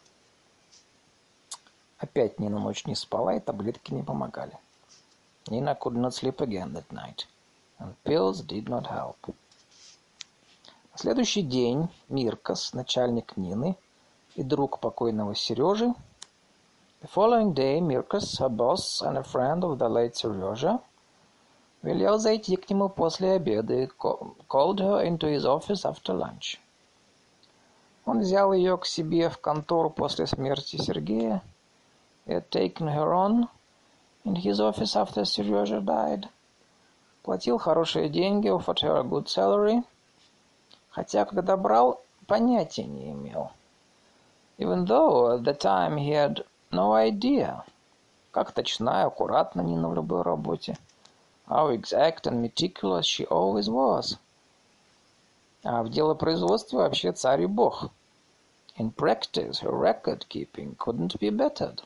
Опять Нина ночь не спала, и таблетки не помогали. Nina could not sleep again that night, and pills did not help. На следующий день Миркас, начальник Нины, и друг покойного Сережи. The following day, Mirkas, her boss and a friend of the late Serежа, велел зайти к нему после обеда и called her into his office after lunch. Он взял ее к себе в контору после смерти Сергея. He had taken her on in his office after Serежа died. Платил хорошие деньги, offered her a good salary, хотя, когда брал, понятия не имел. Even though at the time he had no idea, как точна и аккуратна Нина в любой работе. How exact and meticulous she always was. А в делопроизводстве вообще царь и бог. In practice, her record-keeping couldn't be bettered.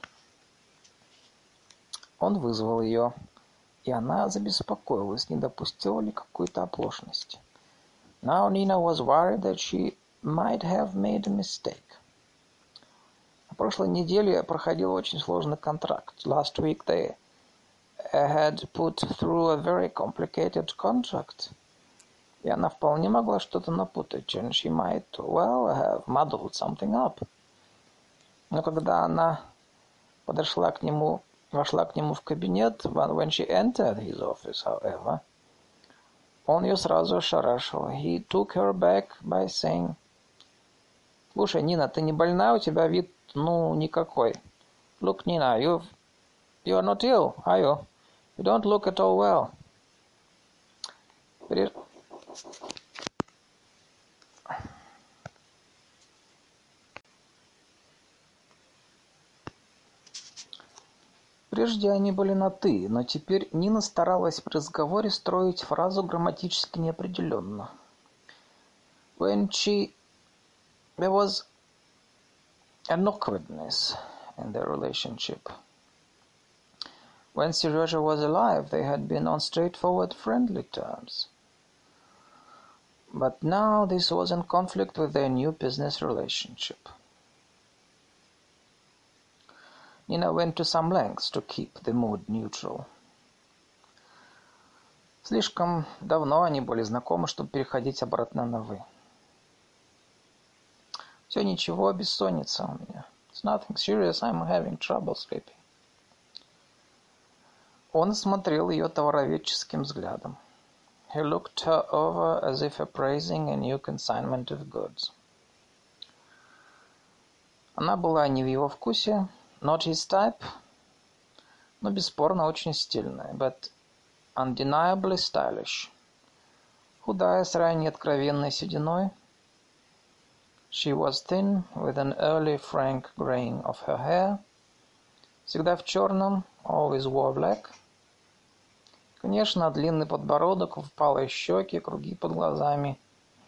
Он вызвал ее, и она забеспокоилась, не допустила ли какой-то оплошности. Now Nina was worried that she might have made a mistake. На прошлой неделе проходил очень сложный контракт. Last week they had put through a very complicated contract. И она вполне могла что-то напутать, and she might well have muddled something up. Но когда она подошла к нему, вошла к нему в кабинет, when she entered his office, however, он ее сразу ошарашил. He took her back by saying, «Слушай, Нина, ты не больна? У тебя вид, ну, никакой. Look, Nina, you you are not ill, are you? You don't look at all well». При... Прежде они были на «ты», но теперь Нина старалась при разговоре строить фразу грамматически неопределенно. When she... There was an awkwardness in their relationship. When Serежа was alive, they had been on straightforward friendly terms. But now this was in conflict with their new business relationship. Nina went to some lengths to keep the mood neutral. Слишком давно они были знакомы, чтобы переходить обратно на «вы». Все ничего, бессонница у меня. It's nothing serious, I'm having trouble sleeping. Он смотрел ее товароведческим взглядом. He looked her over as if appraising a new consignment of goods. Она была не в его вкусе, not his type, но бесспорно очень стильная, but undeniably stylish. Худая, с ранней откровенной сединой. She was thin, with an early frank graying of her hair. Всегда в черном, always wore black. Конечно, длинный подбородок, впалые щеки, круги под глазами.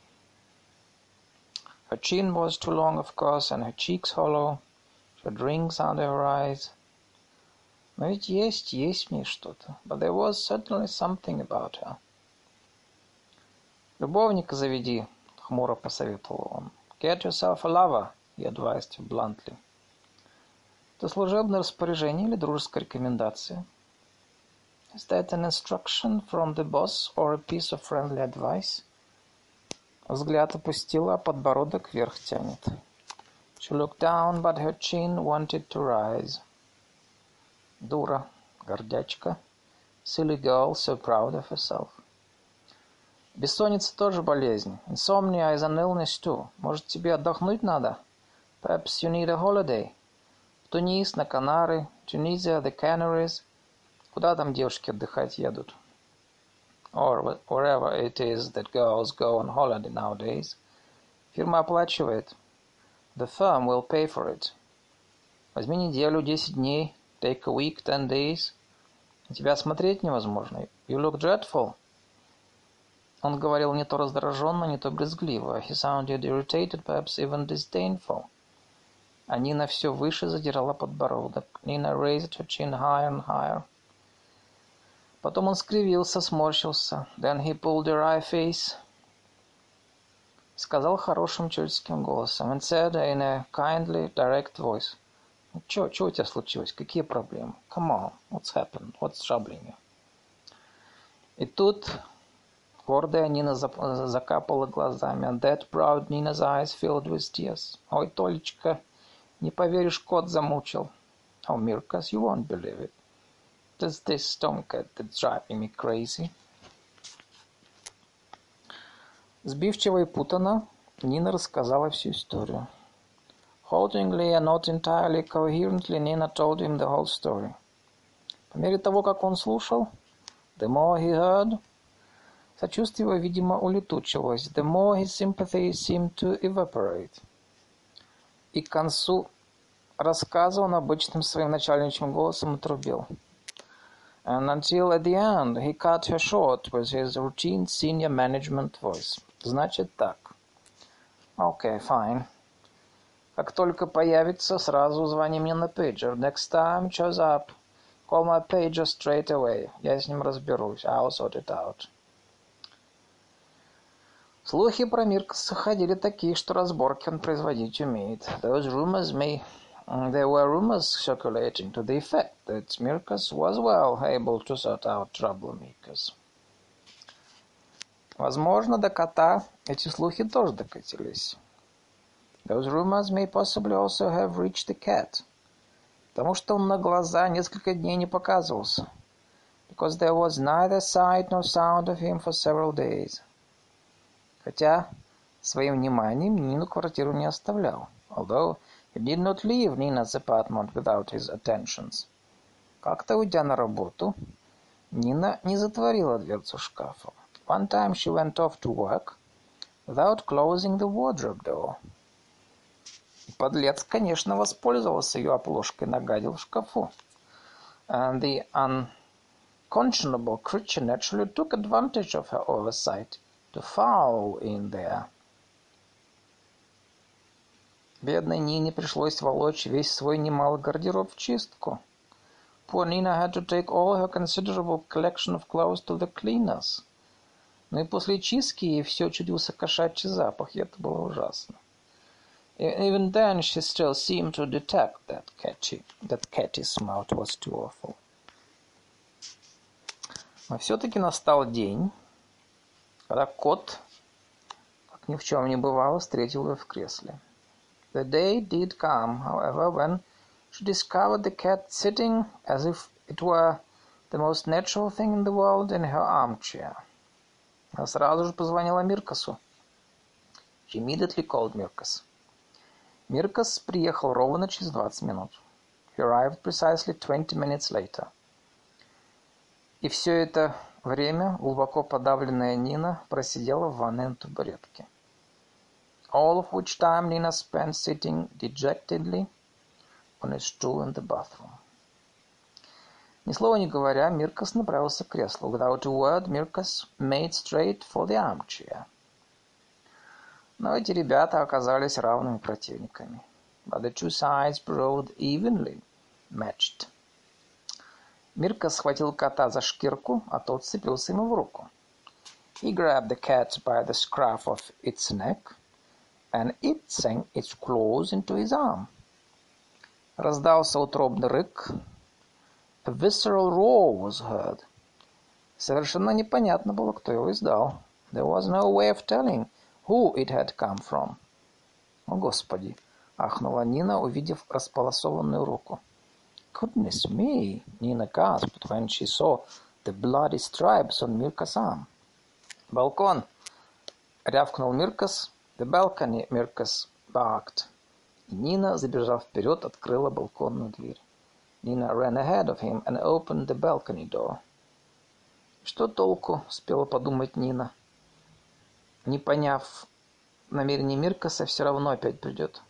Her chin was too long, of course, and her cheeks hollow. She had rings under her eyes. Но ведь есть, есть в ней что-то. But there was certainly something about her. Любовника заведи, хмуро посоветовал он. Get yourself a lover, he advised her bluntly. Это служебное распоряжение или дружеская рекомендация? Is that an instruction from the boss or a piece of friendly advice? Взгляд опустила, а подбородок вверх тянет. She looked down, but her chin wanted to rise. Дура, гордячка. Silly girl, so proud of herself. Бессонница тоже болезнь. Insomnia is an illness too. Может, тебе отдохнуть надо? Perhaps you need a holiday. В Тунис, на Канары, Tunisia, the Canaries. Куда там девушки отдыхать едут? Or wherever it is that girls go on holiday nowadays. Фирма оплачивает. The firm will pay for it. Возьми неделю, десять дней. Take a week, ten days. На тебя смотреть невозможно. You look dreadful. Он говорил не то раздраженно, не то брезгливо. He sounded irritated, perhaps even disdainful. А Нина все выше задирала подбородок. Nina raised her chin higher and higher. Потом он скривился, сморщился. Then he pulled a wry face. Сказал хорошим человеческим голосом. And said in a kindly, direct voice. Чё, чё у тебя случилось? Какие проблемы? Come on, what's happened? What's troubling you? И тут гордая Нина закапала глазами. And that proud Nina's eyes filled with tears. Ой, Толечка, не поверишь, кот замучил. Oh, Mirkas, you won't believe it. There's this tomcat that's driving me crazy. Сбивчиво и путано Нина рассказала всю историю. Haltingly and not entirely coherently, Nina told him the whole story. По мере того, как он слушал, the more he heard, сочувствие его, видимо, улетучивалось. The more his sympathy seemed to evaporate. И к концу рассказа он обычным своим начальничьим голосом отрубил. And until at the end he cut her short with his routine senior management voice. Значит так. Okay, fine. Как только появится, сразу звони мне на пейджер. Next time shows up, call my pager straight away. Я с ним разберусь. I'll sort it out. Слухи про Миркаса ходили такие, что разборки он производить умеет. Those rumors may... There were rumors circulating to the effect that Mirkas was well able to sort out troublemakers. Возможно, до кота эти слухи тоже докатились. Those rumors may possibly also have reached the cat. Потому что он на глаза несколько дней не показывался. Because there was neither sight nor sound of him for several days. Хотя своим вниманием Нину квартиру не оставлял. Although he did not leave Nina's apartment without his attentions. Как-то, уйдя на работу, Нина не затворила дверцу шкафа. One time she went off to work without closing the wardrobe door. И подлец, конечно, воспользовался ее оплошкой, нагадил в шкафу. and the unconscionable creature naturally took advantage of her oversight to fall in there. Бедной Нине пришлось волочь весь свой немалый гардероб в чистку. Poor Nina had to take all her considerable collection of clothes to the cleaners. Но и после чистки ей все чудился кошачий запах, и это было ужасно. Even then she still seemed to detect that catchy, that catty smell. It was too awful. Но все-таки настал день, когда кот, как ни в чем не бывало, встретил ее в кресле. The day did come, however, when she discovered the cat sitting as if it were the most natural thing in the world in her armchair. Она сразу же позвонила Миркасу. She immediately called Mirkas. Миркас приехал ровно через двадцать минут. He arrived precisely twenty minutes later. И все это время глубоко подавленная Нина просидела в ванной на табуретке. All of which time Nina spent sitting dejectedly on a stool in the bathroom. Ни слова не говоря, Миркас направился к креслу. Without a word, Mirkas made straight for the armchair. Но эти ребята оказались равными противниками. But the two sides proved evenly matched. Миркас схватил кота за шкирку, а тот вцепился ему в руку. He grabbed the cat by the scruff of its neck, and it sank its claws into his arm. Раздался утробный рык. A visceral roar was heard. Совершенно непонятно было, кто его издал. There was no way of telling who it had come from. О, Господи! Ахнула Нина, увидев располосованную руку. Goodness me! Nina gasped when she saw the bloody stripes on Mirkas' arm. Балкон! Рявкнул Миркас. The balcony, Mirkas barked. И Нина, забежав вперед, открыла балконную дверь. Nina ran ahead of him and opened the balcony door. Что толку, успела подумать Нина. Не поняв намерений Миркаса, все равно опять придет.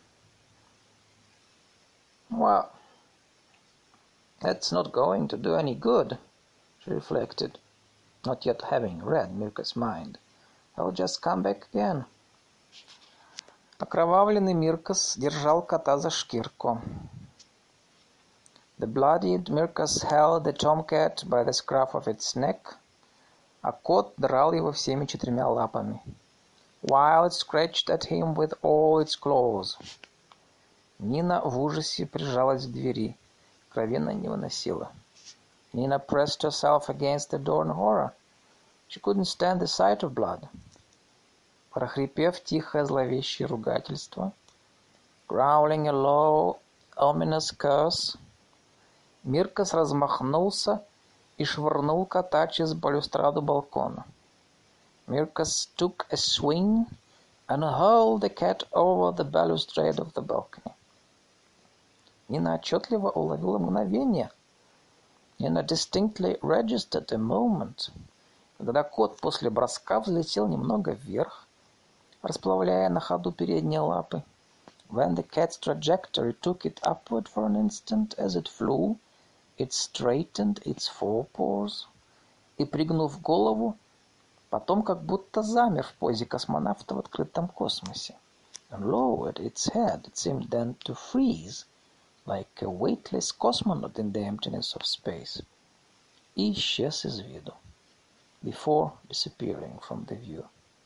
Well, that's not going to do any good, she reflected, not yet having read Mirkas' mind. I'll just come back again. Окровавленный Миркас держал кота за шкирку. The bloodied Mirkas held the tomcat by the scruff of its neck, а кот драл его всеми четырьмя лапами, while it scratched at him with all its claws. Нина в ужасе прижалась к двери. Крови она не выносила. Nina pressed herself against the door in horror. She couldn't stand the sight of blood. Прохрипев тихое зловещее ругательство, growling a low, ominous curse, Миркас размахнулся и швырнул кота через балюстраду балкона. Mirkas took a swing and hurled the cat over the balustrade of the balcony. Нина отчетливо уловила мгновение. Nina distinctly registered a moment, когда кот после броска взлетел немного вверх, расплавляя на ходу передние лапы. When the cat's trajectory took it upward for an instant as it flew, it straightened its forepaws, и, пригнув голову, потом как будто замер в позе космонавта в открытом космосе. And lowered its head, it seemed then to freeze, like a weightless cosmonaut in the emptiness of space. И исчез из виду, before disappearing from the view.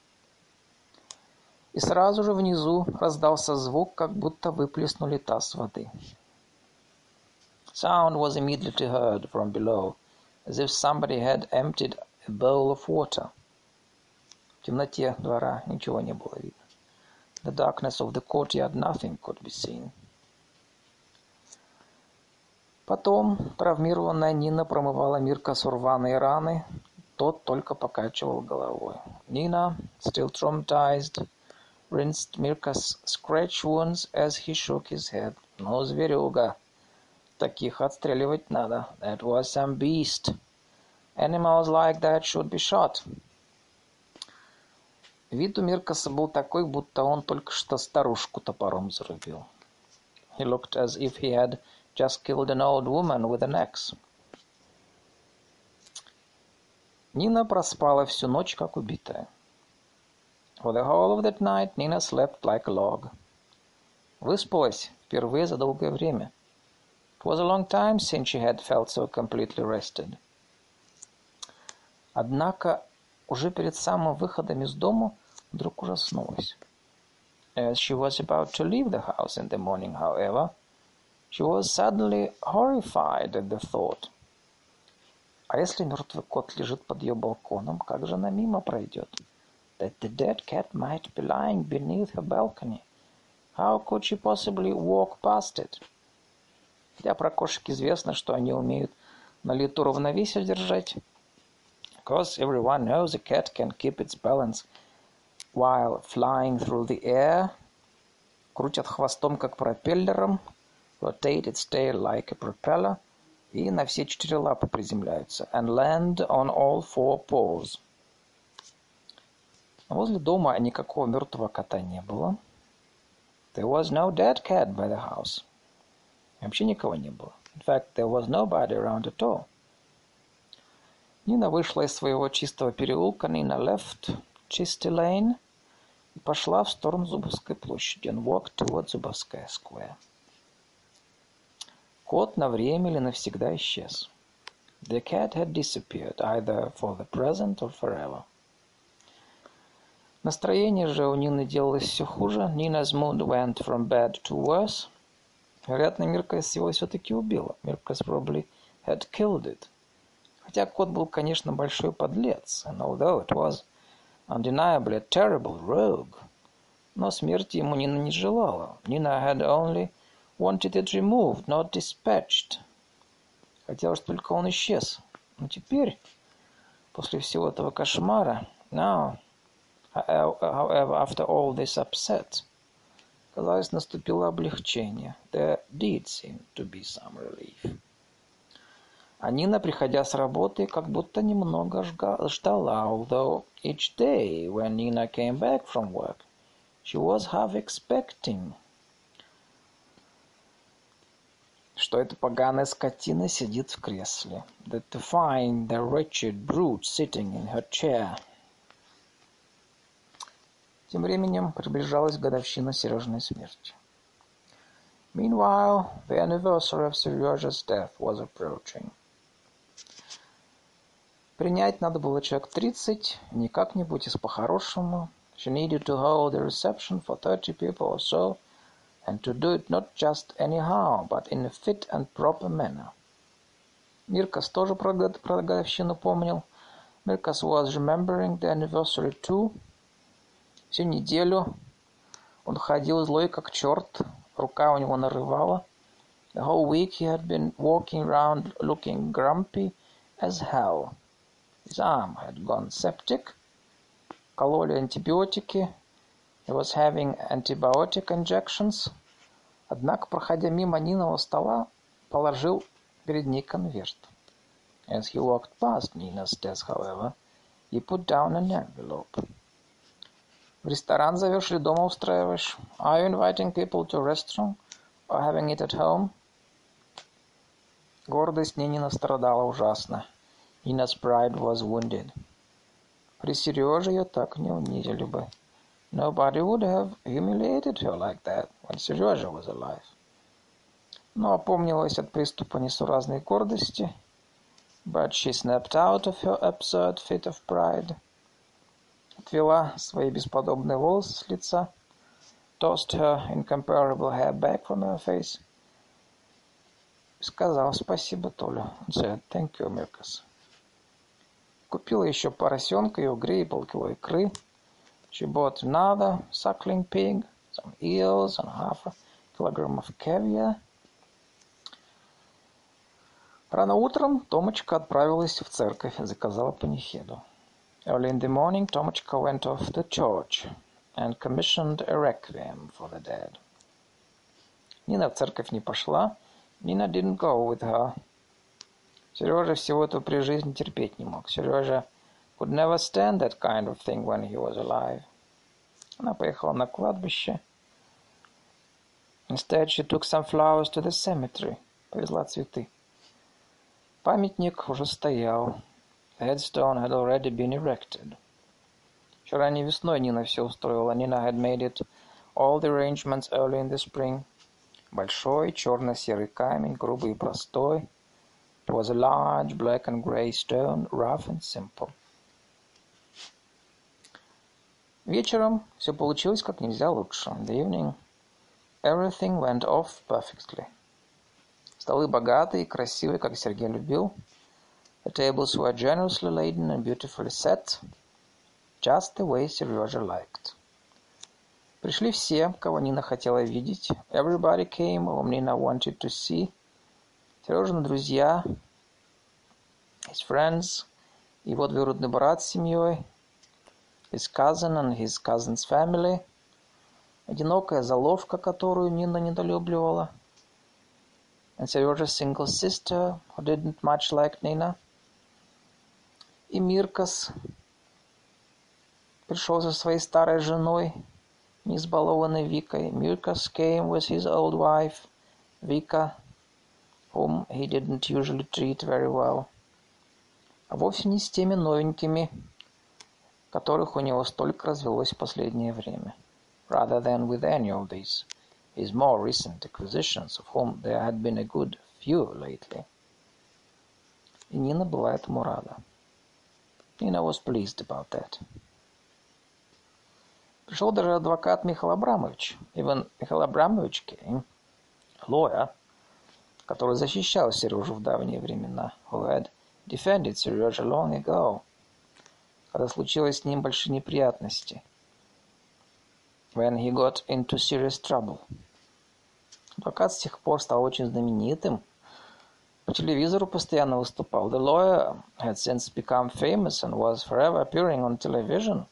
И сразу же внизу раздался звук, как будто выплеснули таз воды. Sound was immediately heard from below, as if somebody had emptied a bowl of water. В темноте двора ничего не было видно. In the darkness of the courtyard nothing could be seen. Потом травмированная Нина промывала Миркасу рваные раны, тот только покачивал головой. Nina, still traumatized, rinsed Mirkas' scratch wounds as he shook his head. Ну, зверюга, таких отстреливать надо. That was some beast. Animals like that should be shot. Вид у Миркаса был такой, будто он только что старушку топором зарубил. He looked as if he had just killed an old woman with an axe. Нина проспала всю ночь, как убитая. For the whole of that night Nina slept like a log. Выспалась впервые за долгое время. It was a long time since she had felt so completely rested. Однако уже перед самым выходом из дому вдруг ужаснулась. As she was about to leave the house in the morning, however, she was suddenly horrified at the thought. А если мертвый кот лежит под ее балконом, как же она мимо пройдет? That the dead cat might be lying beneath her balcony. How could she possibly walk past it? Хотя про кошек известно, что они умеют на лету равновесие держать. Of course, everyone knows a cat can keep its balance while flying through the air, крутят хвостом, как пропеллером, rotate its tail like a propeller, и на все четыре лапы приземляются, and land on all four paws. Возле дома никакого мертвого кота не было. There was no dead cat by the house. Вообще никого не было. In fact, there was nobody around at all. Нина вышла из своего чистого переулка, Nina left Чистый Lane, и пошла в сторону Зубовской площади, and walked towards Зубовская Square. Кот на время или навсегда исчез. The cat had disappeared, either for the present or forever. Настроение же у Нины делалось все хуже. Nina's mood went from bad to worse. Вероятно, Миркас его все-таки убила. Миркас probably had killed it. Хотя кот был, конечно, большой подлец, and although it was undeniably a terrible rogue, но смерти ему Нина не желала. Nina had only wanted it removed, not dispatched. Хотелось только он исчез. Но теперь, после всего этого кошмара, now, however, after all this upset, казалось, наступило облегчение. There did seem to be some relief. А Нина, приходя с работы, как будто немного ждала, although each day when Nina came back from work, she was half expecting, что эта поганая скотина сидит в кресле, that to find the wretched brute sitting in her chair. Тем временем приближалась годовщина Сережиной смерти. Meanwhile, the anniversary of Seryoja's death was approaching. Принять надо было человек тридцать, не как-нибудь, а по-хорошему. She needed to hold a reception for thirty people or so, and to do it not just anyhow, but in a fit and proper manner. Миркас тоже про годовщину помнил. Миркас was remembering the anniversary too. Всю неделю он ходил злой как черт, рука у него нарывала. The whole week he had been walking around looking grumpy as hell. His arm had gone septic. Кололи антибиотики. He was having antibiotic injections. Однако, проходя мимо Ниного стола, положил перед ней конверт. As he walked past Nina's desk, however, he put down an envelope. В ресторан зовешь или дома устраиваешь? Are you inviting people to a restaurant or having it at home? Гордость Нинина страдала ужасно. Nina's pride was wounded. При Сереже ее так не унизили бы. Nobody would have humiliated her like that when Seryoja was alive. Но опомнилась от приступа несуразной гордости, but she snapped out of her absurd fit of pride. Отвела свои бесподобные волосы с лица, tossed her incomparable hair back from her face, сказал спасибо Толю, said thank you, Mirkas. Купила еще поросенка и угрей и полкило икры. She bought another suckling pig, some eels, and half a kilogram of caviar. Рано утром Томочка отправилась в церковь и заказала панихиду. Early in the morning, Tomочка went off to church and commissioned a requiem for the dead. Нина в церковь не пошла. Nina didn't go with her. Сережа всего этого при жизни терпеть не мог. Сережа could never stand that kind of thing when he was alive. Она поехала на кладбище. Instead, she took some flowers to the cemetery. Повезла цветы. Памятник уже стоял. The headstone had already been erected. Еще ранней весной Нина все устроила. Nina had made it all the arrangements early in the spring. Большой черно-серый камень, грубый и простой. It was a large black and grey stone, rough and simple. Вечером все получилось как нельзя лучше. In the evening, everything went off perfectly. Столы богатые и красивые, как Сергей любил. The tables were generously laden and beautifully set, just the way Serежа liked. Пришли все, кого Нина хотела видеть. Everybody came whom Nina wanted to see. Сережины друзья, his friends, его двоюродный брат с семьей, his cousin and his cousin's family, одинокая заловка, которую Нина недолюбливала, and Serежa's single sister, who didn't much like Nina, и Миркас пришел со своей старой женой, неизбалованной Викой. Mirkas came with his old wife, Vika, whom he didn't usually treat very well. А вовсе не с теми новенькими, которых у него столько развелось в последнее время. Rather than with any of these, his more recent acquisitions, of whom there had been a good few lately. И Нина была этому рада. Nina was pleased about that. Пришел даже адвокат Михаил Абрамович. Even Михаил Абрамович came, a lawyer, который защищал Сережу в давние времена, who had defended Serежа long ago, когда случилось с ним большие неприятности, when he got into serious trouble. Адвокат с тех пор стал очень знаменитым. По телевизору постоянно выступал. The lawyer had since become famous and was forever appearing on television.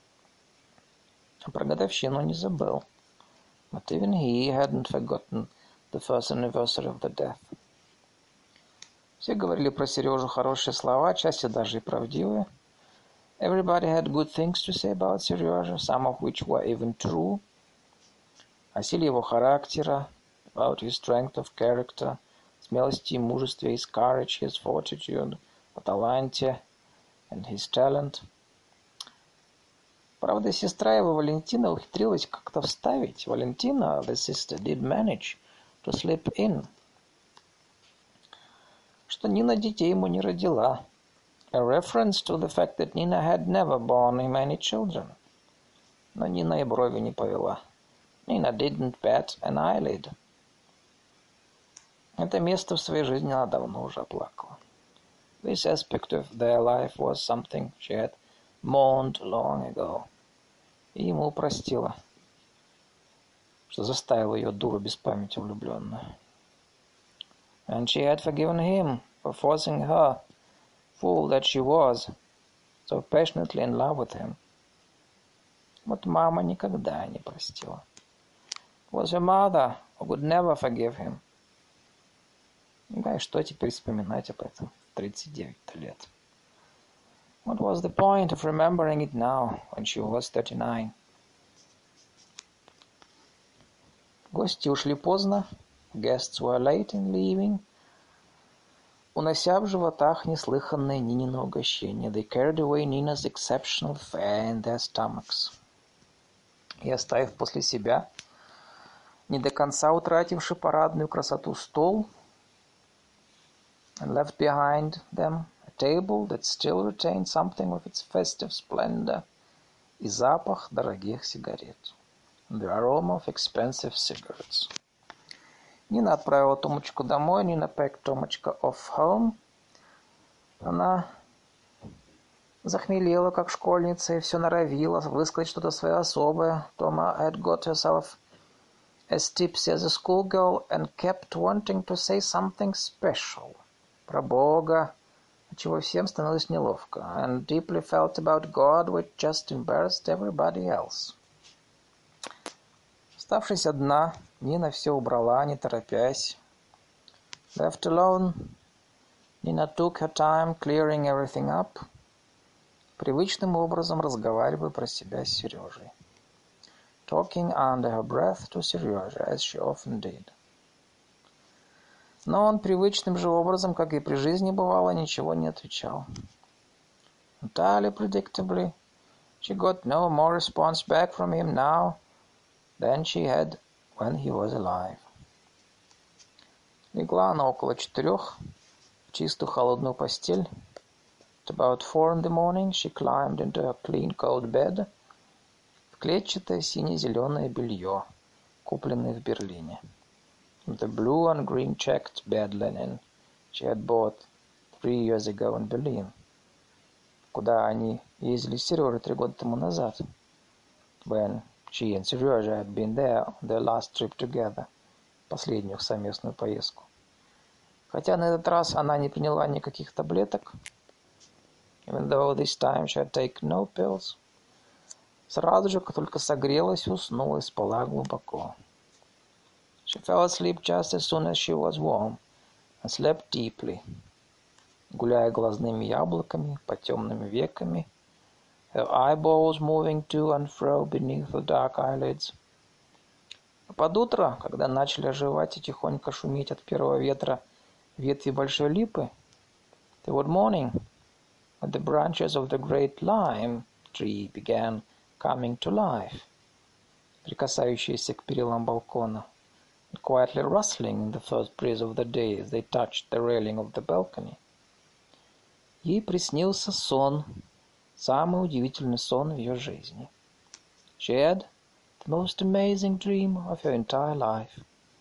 Про годовщину не забыл. But even he hadn't forgotten the first anniversary of the death. Все говорили про Сережу хорошие слова, части даже и правдивые. Everybody had good things to say about Serежа, some of which were even true. О силе его характера, about his strength of character, смелости и мужестве, his courage, his fortitude, о таланте and his talent. Правда, сестра его Валентина ухитрилась как-то вставить. Валентина, the sister, did manage to slip in, что Нина детей ему не родила. A reference to the fact that Nina had never borne him any children. Но Нина и брови не повела. Nina didn't bat an eyelid. Это место в своей жизни она давно уже оплакала. This aspect of their life was something she had mourned long ago. И ему простила, что заставила ее дуру без памяти влюбленную. And she had forgiven him for forcing her, fool that she was, so passionately in love with him. Вот мама никогда не простила. It was her mother who would never forgive him. Да и что теперь вспоминать об этом в тридцать девять лет? What was the point of remembering it now, when she was thirty-nine? Гости ушли поздно. Guests were late in leaving. Унося в животах неслыханное Нинино угощение. They carried away Nina's exceptional fare in their stomachs. И оставив после себя, не до конца утративший парадную красоту стол, and left behind them a table that still retained something of its festive splendor, и запах дорогих сигарет, and the aroma of expensive cigarettes. Нина отправила Томочку домой, Нина packed Томочка off home. Она захмелела, как школьница, и все норовила высказать что-то свое особое. Тома had got herself as tipsy as a schoolgirl and kept wanting to say something special. Про Бога, отчего всем становилось неловко, and deeply felt about God, which just embarrassed everybody else. Оставшись одна, Нина все убрала, не торопясь. Left alone, Nina took her time clearing everything up, привычным образом разговаривая про себя с Сережей. Talking under her breath to Serежа, as she often did. Но он привычным же образом, как и при жизни бывало, ничего не отвечал. entirely predictably, she got no more response back from him now than she had when he was alive. Легла она около четырех в чистую холодную постель. At about four in the morning she climbed into her clean cold bed в клетчатое сине-зеленое белье, купленное в Берлине. The blue and green checked bed linen she had bought three years ago in Berlin, куда они ездили с Сережей три года тому назад, when she and Serежа had been there on their last trip together, последнюю их совместную поездку. Хотя на этот раз она не приняла никаких таблеток, even though this time she had taken no pills, сразу же, как только согрелась, уснула и спала глубоко. She fell asleep just as soon as she was warm and slept deeply, гуляя глазными яблоками по темным веками, her eyeballs moving to and fro beneath the dark eyelids. А под утро, когда начали оживать и тихонько шуметь от первого ветра ветви большой липы, toward morning, when the branches of the great lime tree began coming to life, прикасающиеся к перилам балкона, and quietly rustling in the first breeze of the day as they touched the railing of the balcony, ей приснился сон, самый удивительный сон в ее жизни. She had the most amazing dream of her entire life.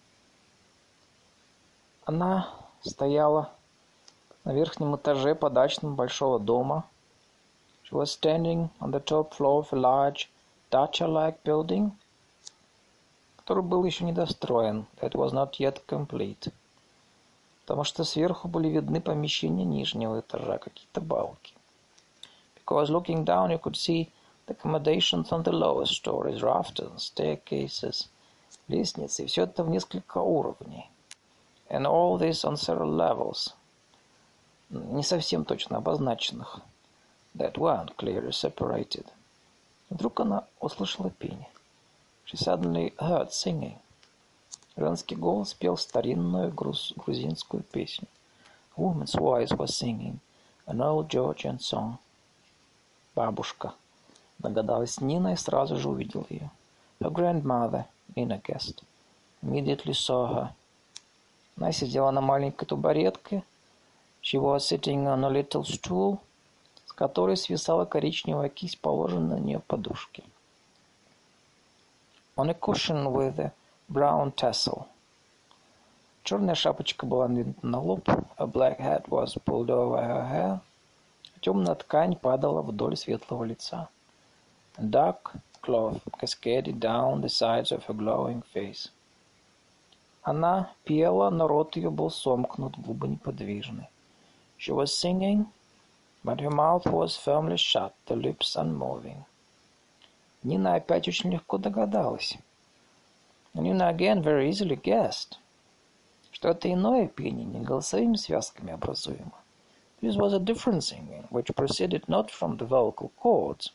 Она стояла на верхнем этаже подачном большого дома. She was standing on the top floor of a large dacha-like building, который был еще недостроен, that was not yet complete, потому что сверху были видны помещения нижнего этажа, какие-то балки. Because looking down you could see the accommodations on the lower stories, rafters, staircases, лестницы, и все это в несколько уровней. And all this on several levels, не совсем точно обозначенных, that weren't clearly separated. Вдруг она услышала пение. She suddenly heard singing. Женский голос пел старинную груз, грузинскую песню. A woman's voice was singing an old Georgian song. Бабушка, догадалась Нина и сразу же увидела ее. Her grandmother, Nina guessed, immediately saw her. Она сидела на маленькой табуретке. She was sitting on a little stool, с которой свисала коричневая кисть, положенная на нее подушки. On a cushion with a brown tassel. Черная шапочка была надвинута на лоб. A black hat was pulled over her hair. Темная ткань падала вдоль светлого лица. A dark cloth cascaded down the sides of her glowing face. Она пела, но рот ее был сомкнут, губы неподвижны. She was singing, but her mouth was firmly shut, the lips unmoving. Нина опять очень легко догадалась. Нина again very easily guessed, что это иное пение, не голосовыми связками образуемо. This was a different singing, which proceeded not from the vocal cords,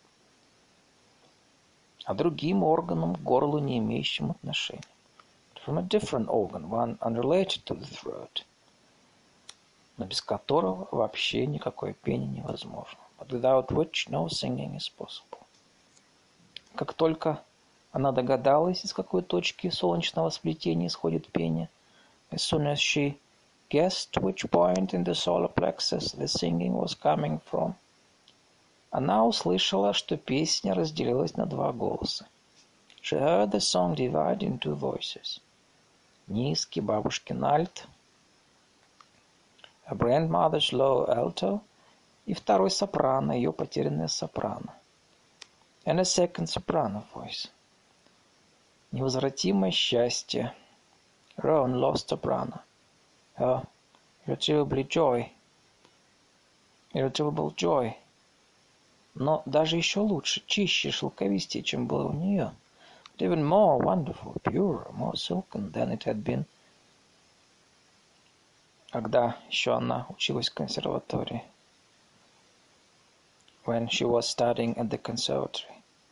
а другим органом к горлу, не имеющим отношения. From a different organ, one unrelated to the throat, но без которого вообще никакое пение невозможно. But without which no singing is possible. Как только она догадалась, из какой точки солнечного сплетения исходит пение, as soon as she guessed which point in the solar plexus the singing was coming from, она услышала, что песня разделилась на два голоса. She heard the song divided in two voices. Низкий бабушкин альт, her grandmother's low alto, и второй сопрано, ее потерянная сопрано. And a second soprano voice. Невозвратимое счастье. Her own lost soprano. Her irretrievable joy. Irretrievable joy. Но даже еще лучше, чище, шелковистее, чем было у нее. But even more wonderful, purer, more silken than it had been, когда еще она училась в консерватории. When she was studying at the conservatory.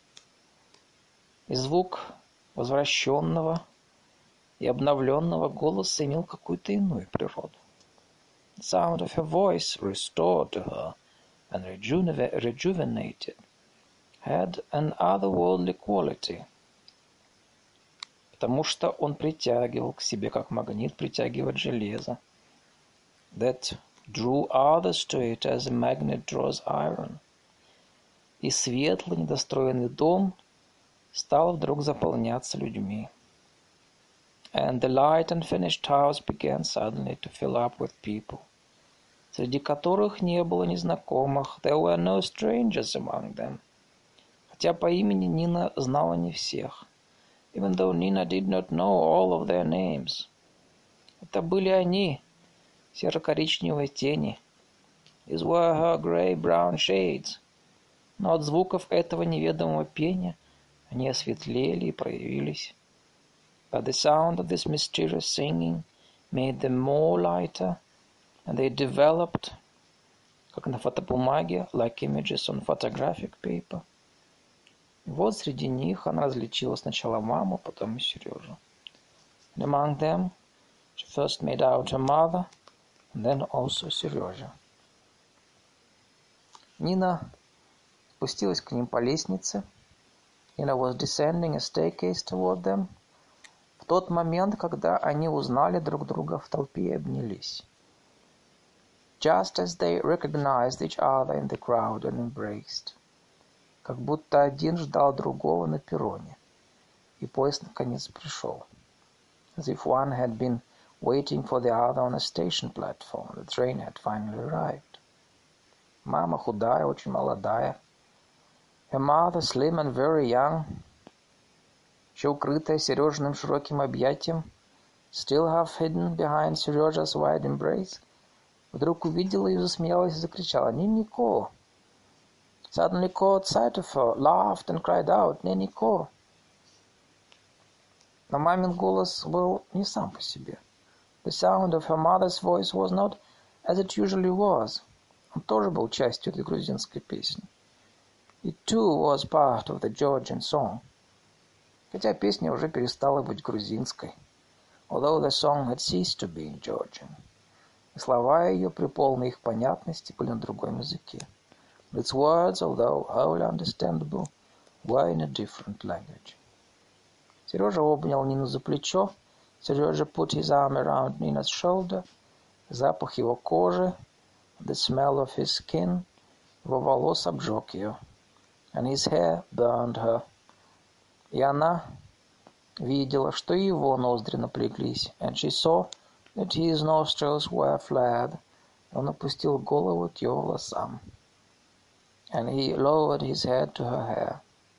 И звук возвращенного и обновленного голоса имел какую-то иную природу. The sound of her voice, restored to her, and rejuve- rejuvenated, had an otherworldly quality, потому что он притягивал к себе, как магнит притягивает железо. That drew others to it as a magnet draws iron. И светлый недостроенный дом стал вдруг заполняться людьми. And the light unfinished house began suddenly to fill up with people, среди которых не было незнакомых. There were no strangers among them. Хотя по имени Нина знала не всех. Even though Nina did not know all of their names. Это были они, серо-коричневые тени. These were her grey-brown shades. Но от звуков этого неведомого пения они осветлели и проявились. But the sound of this mysterious singing made them more lighter, and they developed, как на фотобумаге, like images on photographic paper. И вот среди них она различила сначала маму, потом и Сережу. And among them, she first made out her mother, and then also Сережа. Нина спустилась к ним по лестнице. Nina was descending a staircase toward them. В тот момент, когда они узнали друг друга в толпе и обнялись. Just as they recognized each other in the crowd and embraced. Как будто один ждал другого на перроне, и поезд наконец пришел. As if one had been waiting for the other on a station platform. The train had finally arrived. Мама худая, очень молодая. Her mother slim and very young. Еще укрытая Сережиным широким объятием, still half hidden behind Serежa's wide embrace, вдруг увидела ее, засмеялась и закричала «Нинико!» Suddenly caught sight of her, laughed and cried out «Нинико!» Но мамин голос был не сам по себе. The sound of her mother's voice was not as it usually was. Он тоже был частью этой грузинской песни. It too was part of the Georgian song. Хотя песня уже перестала быть грузинской, although the song had ceased to be Georgian. И слова ее при полной их понятности были на другом языке. Its words, although wholly understandable, were in a different language. Сережа обнял Нину за плечо. Serежа put his arm around Nina's shoulder. Запах его кожи, the smell of his skin, его волос обжег ее. And his hair burned her. И она видела, что и его ноздри напряглись. And she saw that his nostrils were flared. Он опустил голову к ее волосам. And he lowered his head to her hair.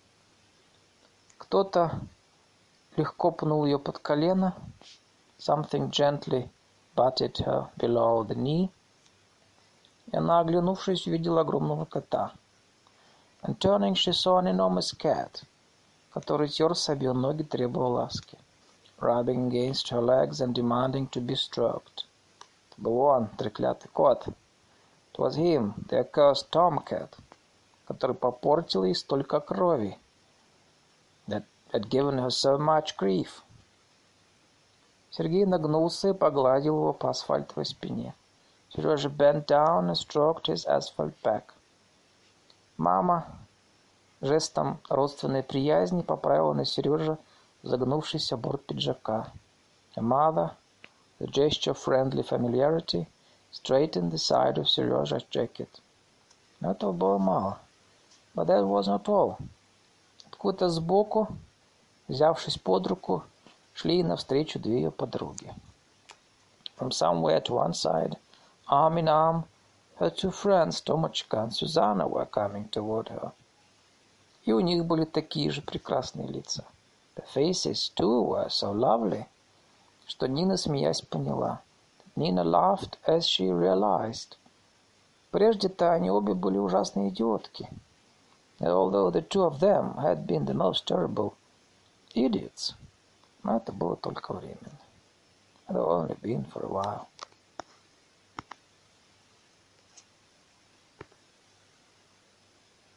Кто-то легко пнул ее под колено. Something gently butted her below the knee. И она, оглянувшись, увидела огромного кота. And turning, she saw an enormous cat, который терся об ее ноги, требовал ласки. Rubbing against her legs and demanding to be stroked. Это был он, треклятый кот. It was him, the accursed tomcat, который попортил ей столько крови. That had given her so much grief. Сергей нагнулся и погладил его по асфальтовой спине. Serежа bent down and stroked his asphalt back. Мама жестом родственной приязни поправила на Сереже загнувшийся борт пиджака. Her mother, the gesture of friendly familiarity, straightened the side of Serежa's jacket. Но этого было мало. But that was not all. Откуда-то сбоку, взявшись под руку, шли навстречу две ее подруги. From somewhere to one side, arm in arm, her two friends, Tomachka and Susanna, were coming toward her. И у них были такие же прекрасные лица. The faces, too, were so lovely, что Нина, смеясь, поняла. Nina laughed as she realized. Прежде-то они обе были ужасные идиотки. Although the two of them had been the most terrible idiots. Но это было только временно. It had only been for a while.